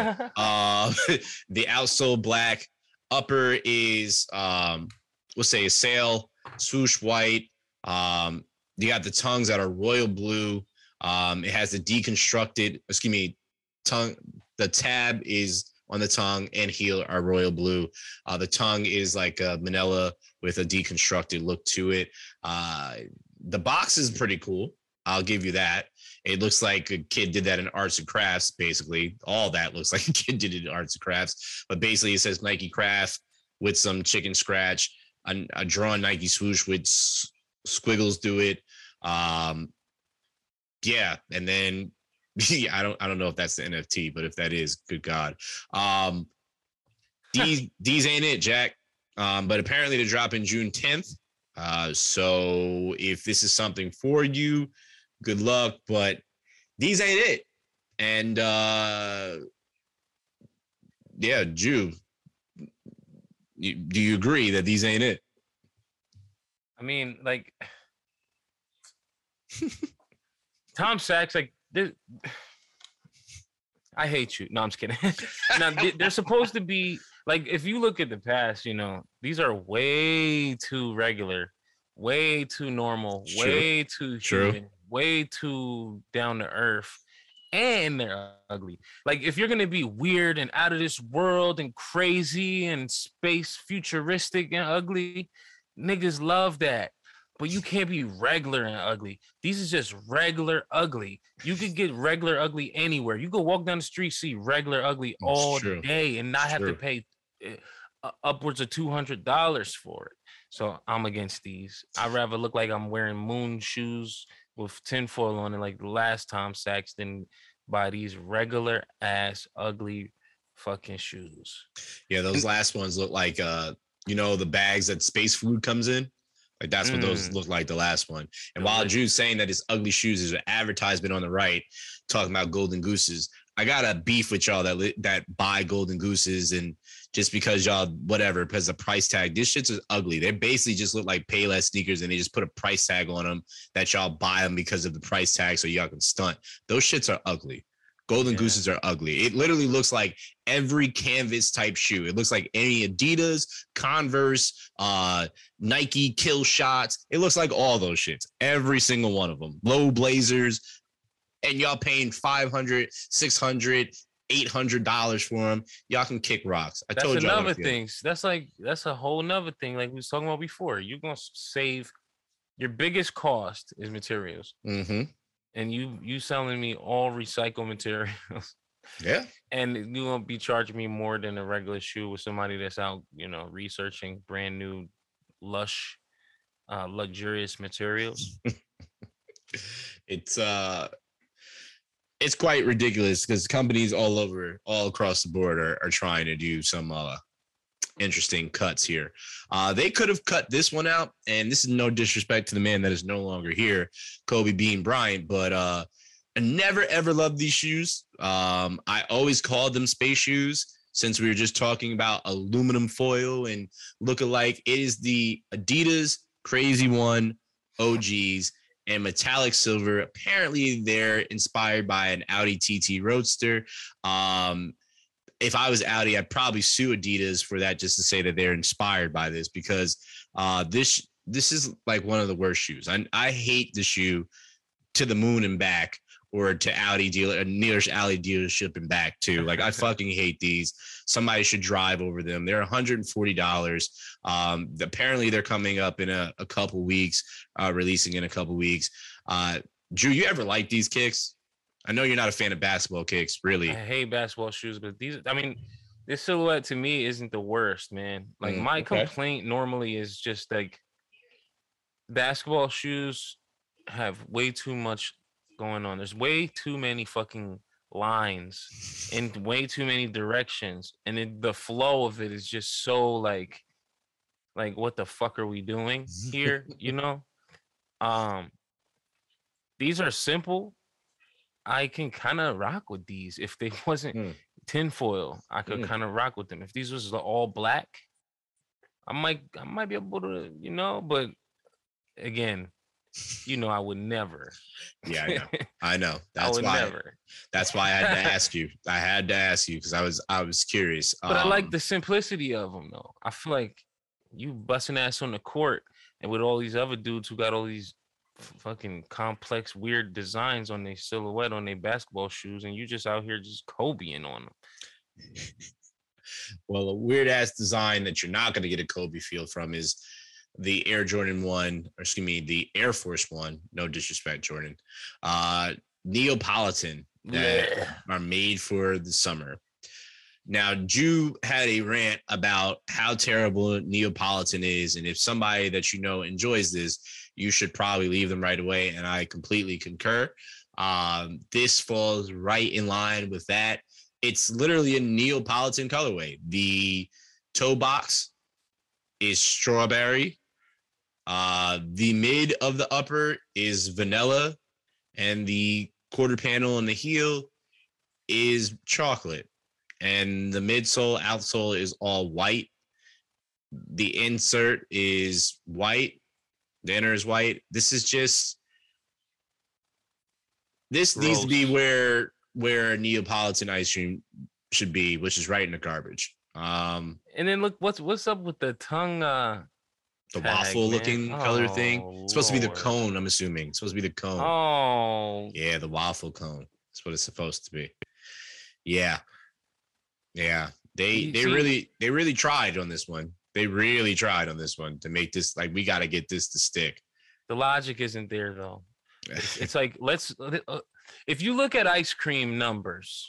outsole black, upper is we'll say a sail, swoosh white. You got the tongues that are royal blue. It has the deconstructed, tongue. The tab is on the tongue and heel are royal blue. The tongue is like a manila with a deconstructed look to it. The box is pretty cool. I'll give you that. It looks like a kid did that in arts and crafts, basically. All that looks like a kid did it in arts and crafts. But basically it says Nike Craft with some chicken scratch, a drawn Nike swoosh with squiggles through it. Yeah. And then I don't know if that's the NFT, but if that is, good God. These ain't it, Jack. But apparently they're dropping June 10th. So if this is something for you, good luck, but these ain't it. And yeah, Jew, do you agree that these ain't it?
I mean, like Tom Sachs, like I hate you. No, I'm just kidding. Now, they're supposed to be like, if you look at the past, these are way too regular, way too normal, way too human, way too down to earth, and they're ugly. Like, if you're gonna be weird and out of this world and crazy and space futuristic and ugly, niggas love that. But you can't be regular and ugly. These is just regular ugly. You could get regular ugly anywhere. You go walk down the street, see regular ugly
It's
all
true.
day, and not
It's
have to
true.
pay upwards of $200 for it. So I'm against these. I'd rather look like I'm wearing moon shoes with tinfoil on it, like the last Tom Sachs, than buy these regular ass ugly fucking shoes.
Yeah, those last ones look like the bags that space food comes in. Like that's what those look like, the last one. And while Drew's saying that it's ugly shoes, there's an advertisement on the right talking about golden gooses. I got a beef with y'all that buy golden gooses, and just because y'all whatever, because the price tag, this shit's is ugly. They basically just look like Payless sneakers, and they just put a price tag on them that y'all buy them because of the price tag, so y'all can stunt. Those shits are ugly. Golden gooses are ugly. It literally looks like every canvas type shoe. It looks like any Adidas, Converse, Nike Kill Shots. It looks like all those shits. Every single one of them. Low blazers. And y'all paying $500, $600, $800 for them. Y'all can kick rocks. I told y'all.
That's another thing. That's a whole nother thing. Like we was talking about before. You're gonna save. Your biggest cost is materials.
Mm-hmm.
And you selling me all recycled materials.
Yeah.
And you won't be charging me more than a regular shoe with somebody that's out, researching brand new, lush, luxurious materials.
It's quite ridiculous because companies all across the board are trying to do some interesting cuts here. They could have cut this one out, and this is no disrespect to the man that is no longer here, Kobe Bean Bryant, but I never ever loved these shoes. I always called them space shoes, since we were just talking about aluminum foil and look-alike. It is the Adidas Crazy One OGs and metallic silver. Apparently they're inspired by an Audi TT Roadster. If I was Audi, I'd probably sue Adidas for that, just to say that they're inspired by this, because this is like one of the worst shoes. I hate the shoe to the moon and back, or to Audi nearest Audi dealership and back too. Like I fucking hate these. Somebody should drive over them. They're $140. Apparently they're coming up in a couple weeks, releasing in a couple weeks. Drew, you ever like these kicks? I know you're not a fan of basketball kicks, really.
I hate basketball shoes, but this silhouette to me isn't the worst, man. Like my complaint normally is just like basketball shoes have way too much going on. There's way too many fucking lines in way too many directions, and the flow of it is just so like what the fuck are we doing here? These are simple. I can kind of rock with these. If they wasn't tinfoil, I could kind of rock with them. If these was all black, I might be able to, but again, I would never.
Yeah, I know. That's why I had to ask you. I had to ask you because I was curious.
But I like the simplicity of them, though. I feel like you busting ass on the court, and with all these other dudes who got all these fucking complex, weird designs on their silhouette on their basketball shoes, and you just out here just Kobeing on them.
Well, a weird ass design that you're not going to get a Kobe feel from is the Air Jordan 1, or excuse me, the Air Force 1. No disrespect, Jordan. Neapolitan that are made for the summer. Now, Drew had a rant about how terrible Neapolitan is, and if somebody that enjoys this, you should probably leave them right away, and I completely concur. This falls right in line with that. It's literally a Neapolitan colorway. The toe box is strawberry. The mid of the upper is vanilla, and the quarter panel on the heel is chocolate. And the midsole, outsole is all white. The insert is white. The inner is white. This needs to be where Neapolitan ice cream should be, which is right in the garbage.
And then look, what's up with the tongue?
The waffle looking color thing. It's supposed to be the cone, I'm assuming. It's supposed to be the cone.
Oh.
Yeah, the waffle cone. That's what it's supposed to be. Yeah. Yeah. They really tried on this one. They really tried on this one to make this, like, we got to get this to stick.
The logic isn't there though. It's like if you look at ice cream numbers.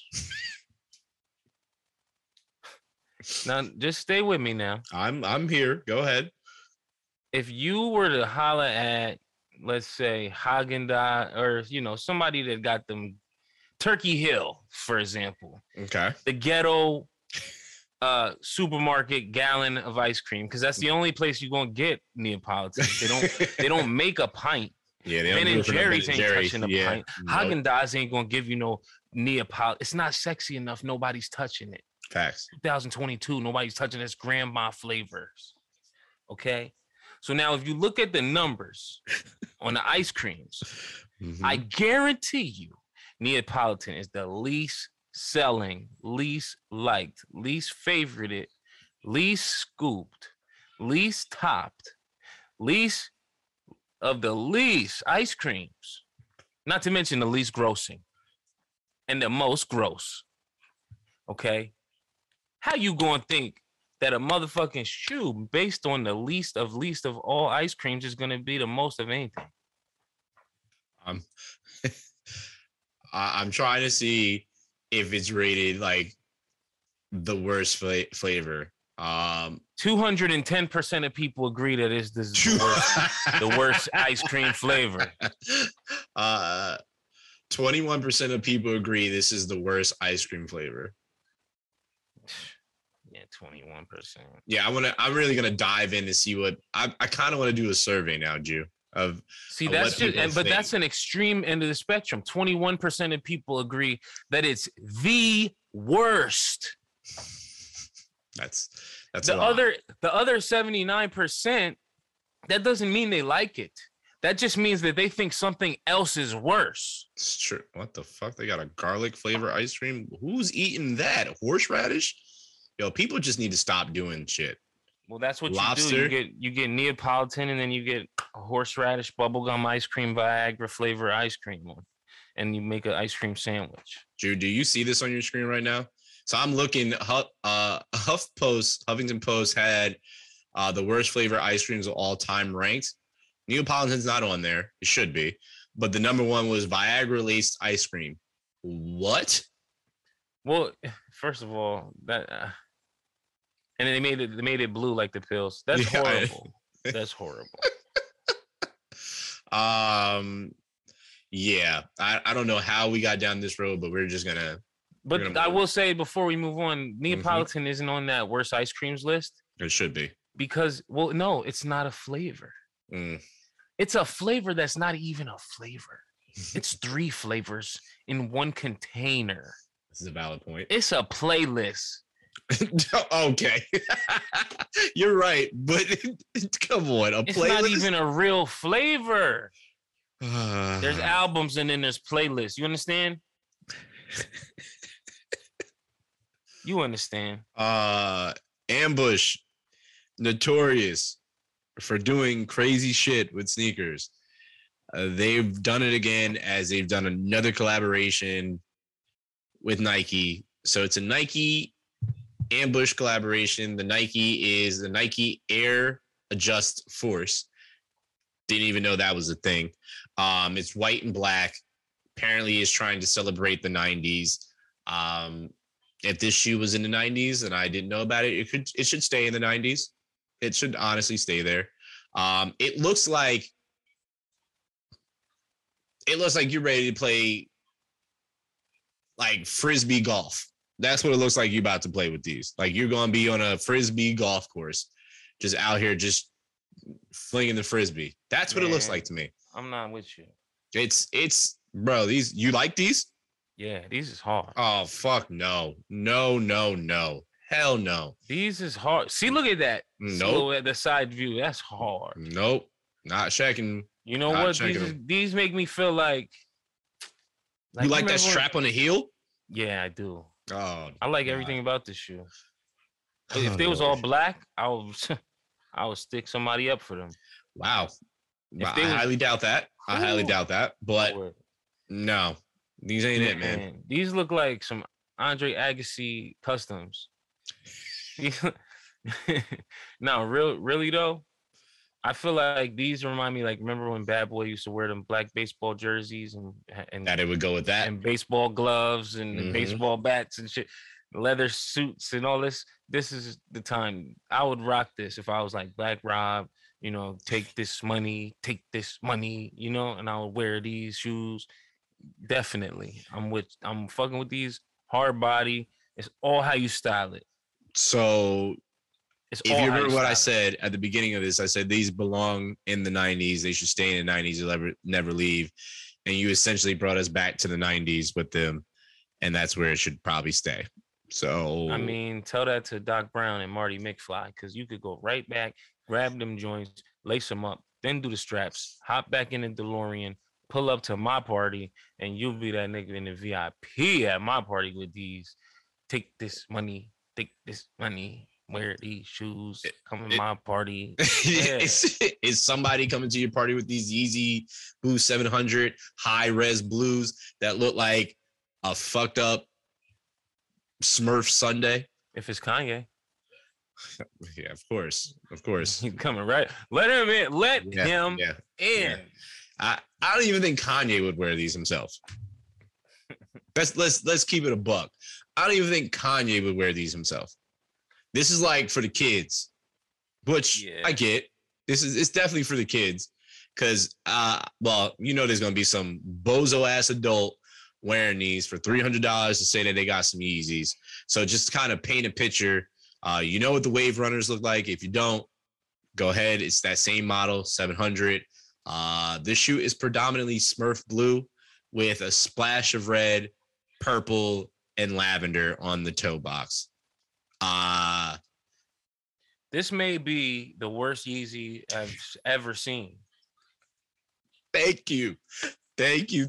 Now, just stay with me now.
I'm here. Go ahead.
If you were to holler at, let's say, Haagen-Dazs or somebody that got them Turkey Hill, for example.
Okay.
The ghetto supermarket gallon of ice cream, because that's the only place you're gonna get Neapolitan. They don't make a pint.
Yeah,
Ben and Jerry's ain't touching a pint.
Nope.
Haagen-Dazs ain't gonna give you no Neapolitan. It's not sexy enough. Nobody's touching it.
Facts.
2022, nobody's touching this grandma flavors. Okay. So now if you look at the numbers on the ice creams, I guarantee you Neapolitan is the least selling, least liked, least favorited, least scooped, least topped, least of the least ice creams. Not to mention the least grossing and the most gross. Okay. How you gonna think that a motherfucking shoe based on the least of all ice creams is gonna be the most of anything?
I'm trying to see if it's rated like the worst flavor.
210% of people agree that this is the worst ice cream flavor.
21% of people agree this is the worst ice cream flavor.
Yeah, 21%.
Yeah, I'm really gonna dive in to see what I kind of want to do a survey now, Jew.
That's that's an extreme end of the spectrum. 21% of people agree that it's the worst.
That's
the other 79%. That doesn't mean they like it. That just means that they think something else is worse.
It's true. What the fuck? They got a garlic flavor ice cream. Who's eating that? Horseradish? Yo, people just need to stop doing shit.
Well, that's what
Lobster.
You do. You get Neapolitan, and then you get a horseradish bubblegum ice cream, Viagra flavor ice cream one, and you make an ice cream sandwich.
Drew, do you see this on your screen right now? So I'm looking. Huffington Post had the worst flavor ice creams of all time ranked. Neapolitan's not on there. It should be, but the number one was Viagra laced ice cream. What?
Well, first of all, that. And they made it blue like the pills. That's horrible. That's horrible.
Yeah. I don't know how we got down this road, but we're just gonna.
But I will say before we move on, Neapolitan isn't on that worst ice creams list.
It should be.
Because, well, no, it's not a flavor. It's a flavor that's not even a flavor. It's 3 flavors in one container.
This is a valid point.
It's a playlist.
Okay. You're right, but come on,
it's not even a real flavor. There's albums and then there's playlists. You understand? You understand?
Ambush, notorious for doing crazy shit with sneakers. They've done it again as they've done another collaboration with Nike. So it's a Nike Ambush collaboration. The Nike is the Nike Air Adjust Force. Didn't even know that was a thing. It's white and black. Apparently is trying to celebrate the 90s. If this shoe was in the 90s and I didn't know about it, it should stay in the 90s. It should honestly stay there. It looks like you're ready to play like frisbee golf. That's what it looks like you're about to play with these. Like you're going to be on a frisbee golf course, just out here, just flinging the frisbee. That's what it looks like to me.
I'm not with you.
It's bro, you like these?
Yeah, these is hard.
Oh, fuck no. No. Hell no.
These is hard. See, look at that.
Nope.
At the side view, that's hard.
Nope. Not checking.
You know what? These make me feel like
you like that strap on the heel?
Yeah, I do.
Oh,
I like everything about this shoe. If they was all black, I would stick somebody up for them.
Wow. I highly doubt that. I highly doubt that. But no, these ain't it, man.
These look like some Andre Agassi customs. No, really though. I feel like these remind me, like, remember when Bad Boy used to wear them black baseball jerseys and
That it would go with that.
and baseball gloves and
Mhm.
baseball bats and shit, leather suits and all this. This is the time I would rock this if I was like Black Rob, take this money, and I would wear these shoes. Definitely. I'm fucking with these hard body. It's all how you style it.
So
It's
if
all
you
how
remember what I
style it.
said at the beginning of this, I said these belong in the 90s. They should stay in the 90s. They'll never leave. And you essentially brought us back to the 90s with them. And that's where it should probably stay. So
I mean, tell that to Doc Brown and Marty McFly, because you could go right back, grab them joints, lace them up, then do the straps, hop back in the DeLorean, pull up to my party, and you'll be that nigga in the VIP at my party with these. Take this money, wear these shoes, come to my party. Yeah.
is somebody coming to your party with these Yeezy Boost 700 high res blues that look like a fucked up Smurf Sunday?
If it's Kanye.
Yeah, of course.
He's coming right. Let him in. Let him in.
Yeah. I don't even think Kanye would wear these himself. Let's keep it a buck. I don't even think Kanye would wear these himself. This is like for the kids, which I get. It's definitely for the kids, because there's gonna be some bozo ass adult wearing these for $300 to say that they got some Yeezys. So just kind of paint a picture. You know what the Wave Runners look like. If you don't, go ahead. It's that same model, 700. This shoe is predominantly Smurf blue with a splash of red, purple, and lavender on the toe box.
This may be the worst Yeezy I've ever seen.
Thank you. Is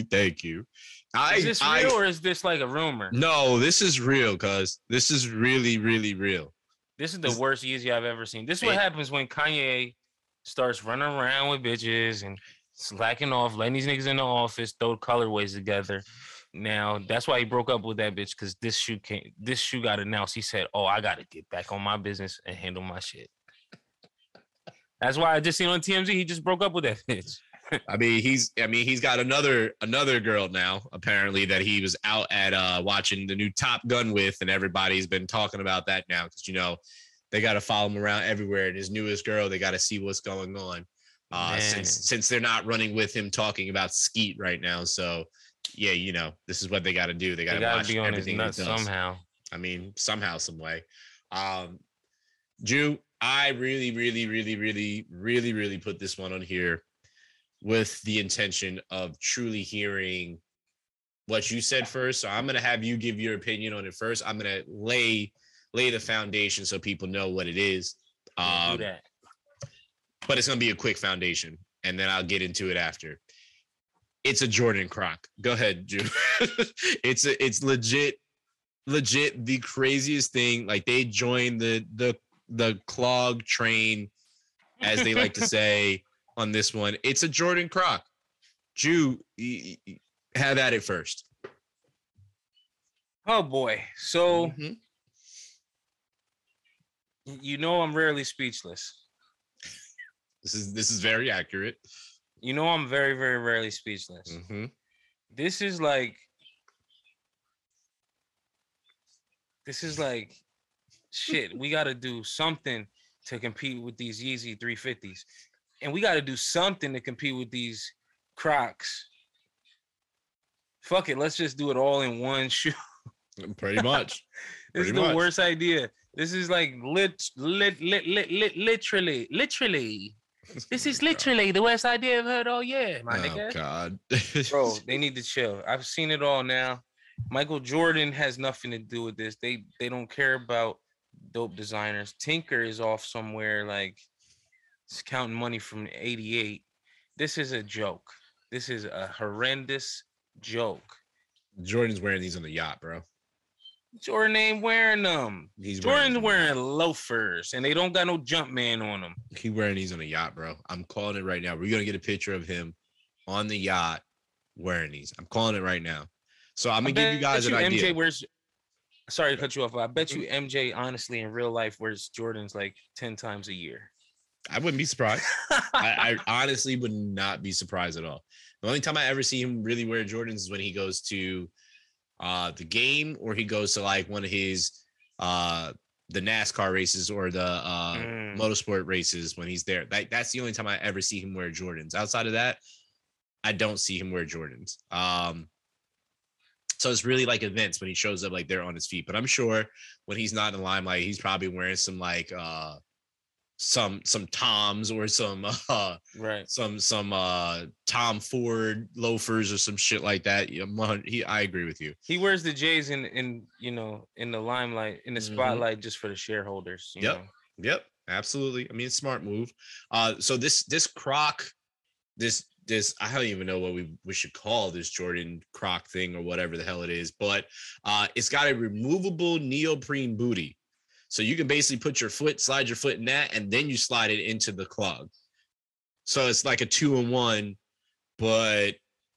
this real or is this like a rumor?
No, this is real, cuz this is really, really real.
This is the worst Yeezy I've ever seen. This is what happens when Kanye starts running around with bitches and slacking off, letting these niggas in the office throw colorways together. Now that's why he broke up with that bitch, because this shoe got announced. He said, "Oh, I gotta get back on my business and handle my shit." That's why I just seen on TMZ he just broke up with that bitch.
I mean, he's got another girl now, apparently, that he was out at watching the new Top Gun with, and everybody's been talking about that now, because they got to follow him around everywhere. And his newest girl, they got to see what's going on. Since they're not running with him talking about Skeet right now. So yeah, this is what they got to do. They got to watch
be on
everything
his nuts
he does.
somehow.
I mean, somehow, some way. Jew, I really, really, really, really, really, really put this one on here with the intention of truly hearing what you said first. So I'm going to have you give your opinion on it first. I'm going to lay the foundation so people know what it is.
Do that.
But it's going to be a quick foundation, and then I'll get into it after. It's a Jordan Croc. Go ahead, Drew. It's legit the craziest thing. Like, they joined the clog train, as they like to say on this one. It's a Jordan Croc. Drew, have at it first.
Oh boy. So I'm rarely speechless.
This is very accurate.
I'm very, very rarely speechless.
Mm-hmm.
This is like shit. We got to do something to compete with these Yeezy 350s, and we got to do something to compete with these Crocs. Fuck it, let's just do it all in one shoe.
Pretty much.
This is the worst idea. This is like literally. This is literally the worst idea I've heard all year, my nigga.
God.
Bro, they need to chill. I've seen it all now. Michael Jordan has nothing to do with this. They don't care about dope designers. Tinker is off somewhere, like, he's counting money from 88. This is a joke. This is a horrendous joke.
Jordan's wearing these on the yacht, bro.
Jordan ain't wearing them. Jordan's wearing loafers, and they don't got no Jumpman on them.
He's wearing these on the yacht, bro. I'm calling it right now. We're going to get a picture of him on the yacht wearing these. I'm calling it right now. So I'm going to give you guys an idea.
MJ wears, sorry to cut you off, but I bet you MJ, honestly, in real life, wears Jordans like 10 times a year.
I wouldn't be surprised. I honestly would not be surprised at all. The only time I ever see him really wear Jordans is when he goes to the game, or he goes to like one of his the NASCAR races or the motorsport races when he's there. That's the only time I ever see him wear Jordans. Outside of that, I don't see him wear Jordans. So it's really like events when he shows up, like they're on his feet. But I'm sure when he's not in the limelight, he's probably wearing some like some Toms or some Tom Ford loafers or some shit like that. I agree with you.
He wears the J's in the limelight, in the spotlight, just for the shareholders.
Yep, absolutely. I mean, it's a smart move. So this Croc, this I don't even know what we should call this Jordan Croc thing or whatever the hell it is, but it's got a removable neoprene booty. So you can basically slide your foot in that, and then you slide it into the clog. So it's like a 2-in-1, but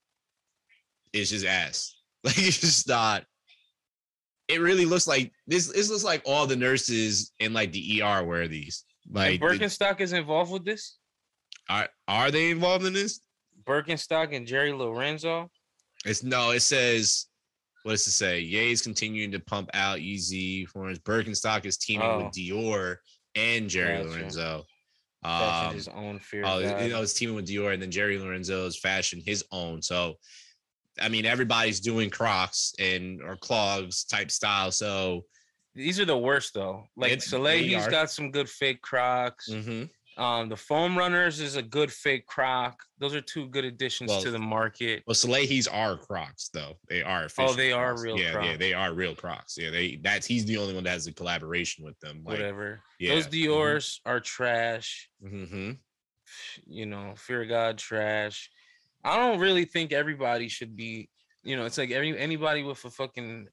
it's just ass. Like, it's just not. It really looks like this looks like all the nurses in like the ER wear these. Like,
and Birkenstock is involved with this?
Are they involved in this?
Birkenstock and Jerry Lorenzo?
It says, what does it say? Ye's continuing to pump out Yeezy forms. Birkenstock is teaming with Dior and Jerry Lorenzo.
His own fear.
It's teaming with Dior, and then Jerry Lorenzo is fashioned his own. So, I mean, everybody's doing Crocs or clogs type style. So
these are the worst though. Like Soleil, he's got some good fake Crocs.
Mm-hmm.
The Foam Runners is a good fake Croc. Those are two good additions to the market.
Well, Soleil's are Crocs though. They are official.
Oh, they
Crocs.
are real Crocs.
Yeah, they are real Crocs. Yeah, he's the only one that has a collaboration with them. Like,
whatever.
Yeah.
Those Dior's are trash.
Mm-hmm.
Fear of God trash. I don't really think everybody should be, it's like anybody with a fucking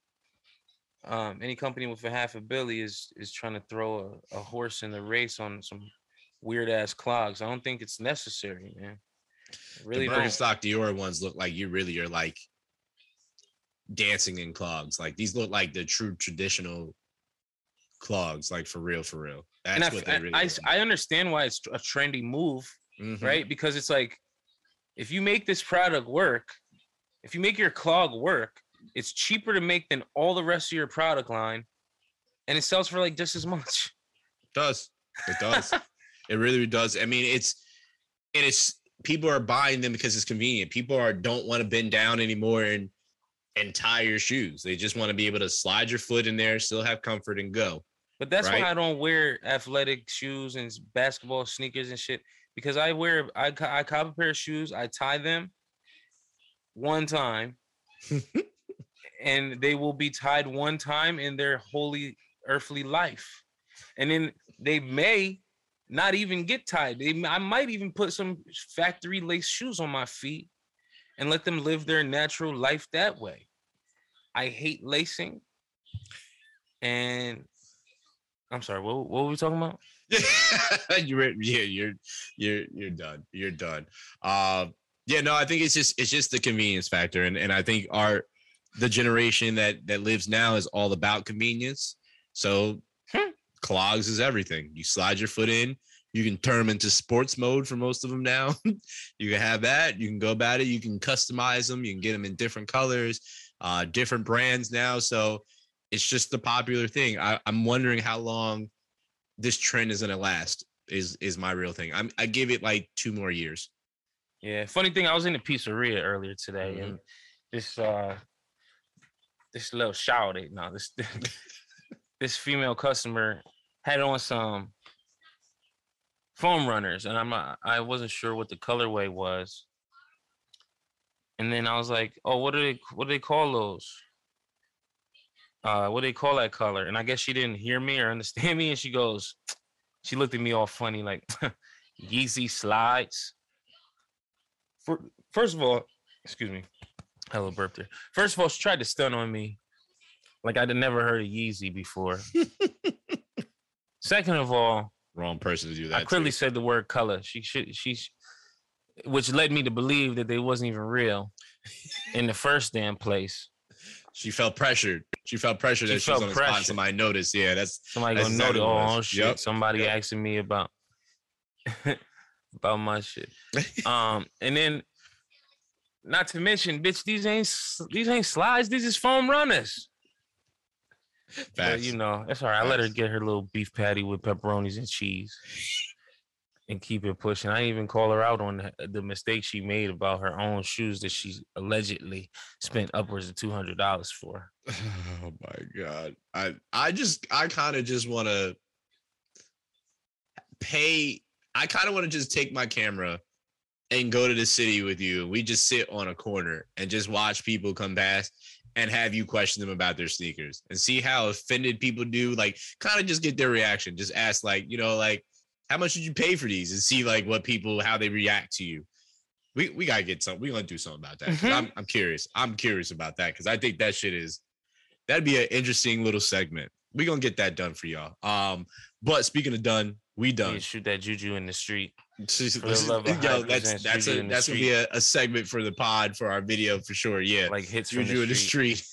any company with a half a billy is trying to throw a horse in the race on some weird ass clogs. I don't think it's necessary, man. Really,
the Birkenstock Dior ones look like you're like dancing in clogs. Like, these look like the true traditional clogs, like for real. That's what they really are.
I understand why it's a trendy move, right? Because it's like, if you make this product work, if you make your clog work, it's cheaper to make than all the rest of your product line, and it sells for like just as much.
It does. It really does. I mean, it's people are buying them because it's convenient. People don't want to bend down anymore and tie your shoes. They just want to be able to slide your foot in there, still have comfort, and go.
But that's why I don't wear athletic shoes and basketball sneakers and shit, because I cop a pair of shoes, I tie them one time, and they will be tied one time in their holy earthly life, and then they may not even get tied. I might even put some factory lace shoes on my feet and let them live their natural life that way. I hate lacing. And I'm sorry, what were we talking about?
You're done. You're done. I think it's just the convenience factor. And I think the generation that lives now is all about convenience. So clogs is everything. You slide your foot in. You can turn them into sports mode for most of them now. You can have that. You can go about it. You can customize them. You can get them in different colors, different brands now. So it's just the popular thing. I'm wondering how long this trend is going to last is my real thing. I give it like 2 more years.
Yeah. Funny thing, I was in a pizzeria earlier today, and this little shawty, this female customer had on some Foam Runners, and I wasn't sure what the colorway was. And then I was like, "Oh, what do they call those? What do they call that color?" And I guess she didn't hear me or understand me, and she looked at me all funny, like, Yeezy slides. First of all, excuse me, hello burp there. First of all, she tried to stun on me like I'd never heard of Yeezy before. Second of all,
wrong person to do that.
I clearly said the word color. Which led me to believe that they wasn't even real in the first damn place.
She felt pressured. That she was on the spot. Somebody noticed. Yeah, that's
somebody gonna notice. Oh shit! Yep. Somebody asking me about. about my shit. And then, not to mention, bitch, these ain't slides. These is foam runners. But you know, it's all right. I let her get her little beef patty with pepperonis and cheese and keep it pushing. I didn't even call her out on the mistake she made about her own shoes that she allegedly spent upwards of $200 for.
Oh my God. I kind of just want to pay. I kind of want to just take my camera and go to the city with you. We just sit on a corner and just watch people come past and have you question them about their sneakers and see how offended people do. Like, kind of just get their reaction. Just ask, like, you know, like, how much did you pay for these? And see, like, what people, how they react to you. We got to get something. We're going to do something about that. Mm-hmm. I'm curious. I'm curious about that because I think that shit that'd be an interesting little segment. We're going to get that done for y'all. But speaking of done, we done.
Shoot that juju in the street.
That's gonna be a segment for the pod for our video for sure. Yeah,
like hits
juju
from
in the street.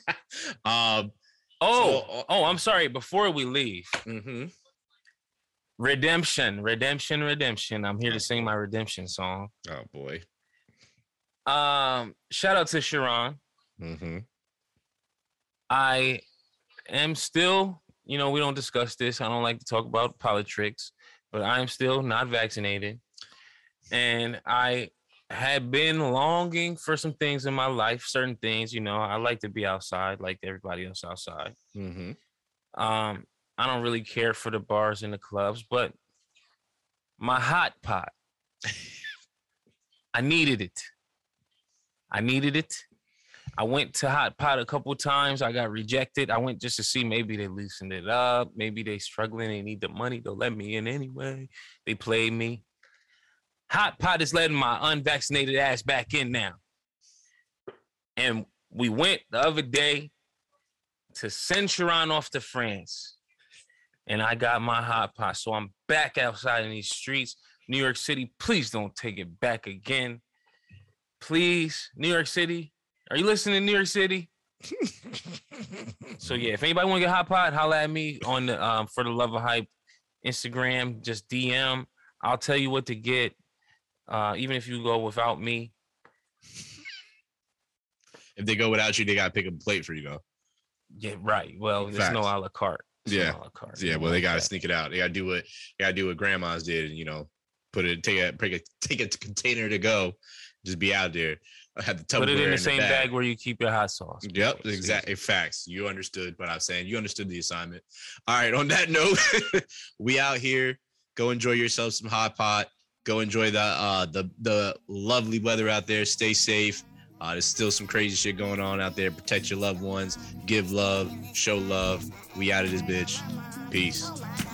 I'm sorry. Before we leave,
mm-hmm.
redemption. I'm here to sing my redemption song.
Oh boy.
Shout out to Sharon.
Mm-hmm.
I am still, you know, we don't discuss this. I don't like to talk about politics, but I am still not vaccinated. And I had been longing for some things in my life, certain things, you know, I like to be outside like everybody else outside.
Mm-hmm.
I don't really care for the bars and the clubs, but my hot pot, I needed it. I went to Hot Pot a couple times. I got rejected. I went just to see maybe they loosened it up. Maybe they struggling. They need the money. They'll let me in anyway. They played me. Hot Pot is letting my unvaccinated ass back in now. And we went the other day to send Sharon off to France. And I got my Hot Pot. So I'm back outside in these streets. New York City, please don't take it back again. Please, New York City. Are you listening, New York City? So yeah, if anybody want to get Hot Pot, holla at me on the For the Love of Hype Instagram. Just DM. I'll tell you what to get. Even if you go without me.
If they go without you, they gotta pick a plate for you though.
Yeah, right. Well, there's no a la carte.
Yeah. Well, they gotta sneak it out. They gotta do what grandmas did, and you know, take a container to go. Just be out there. I had the
put it in the same bag where you keep your hot sauce.
Yep, exactly. Facts. You understood what I'm saying. You understood the assignment. All right. On that note, we out here. Go enjoy yourself some Hot Pot. Go enjoy the lovely weather out there. Stay safe. There's still some crazy shit going on out there. Protect your loved ones. Give love. Show love. We out of this bitch. Peace.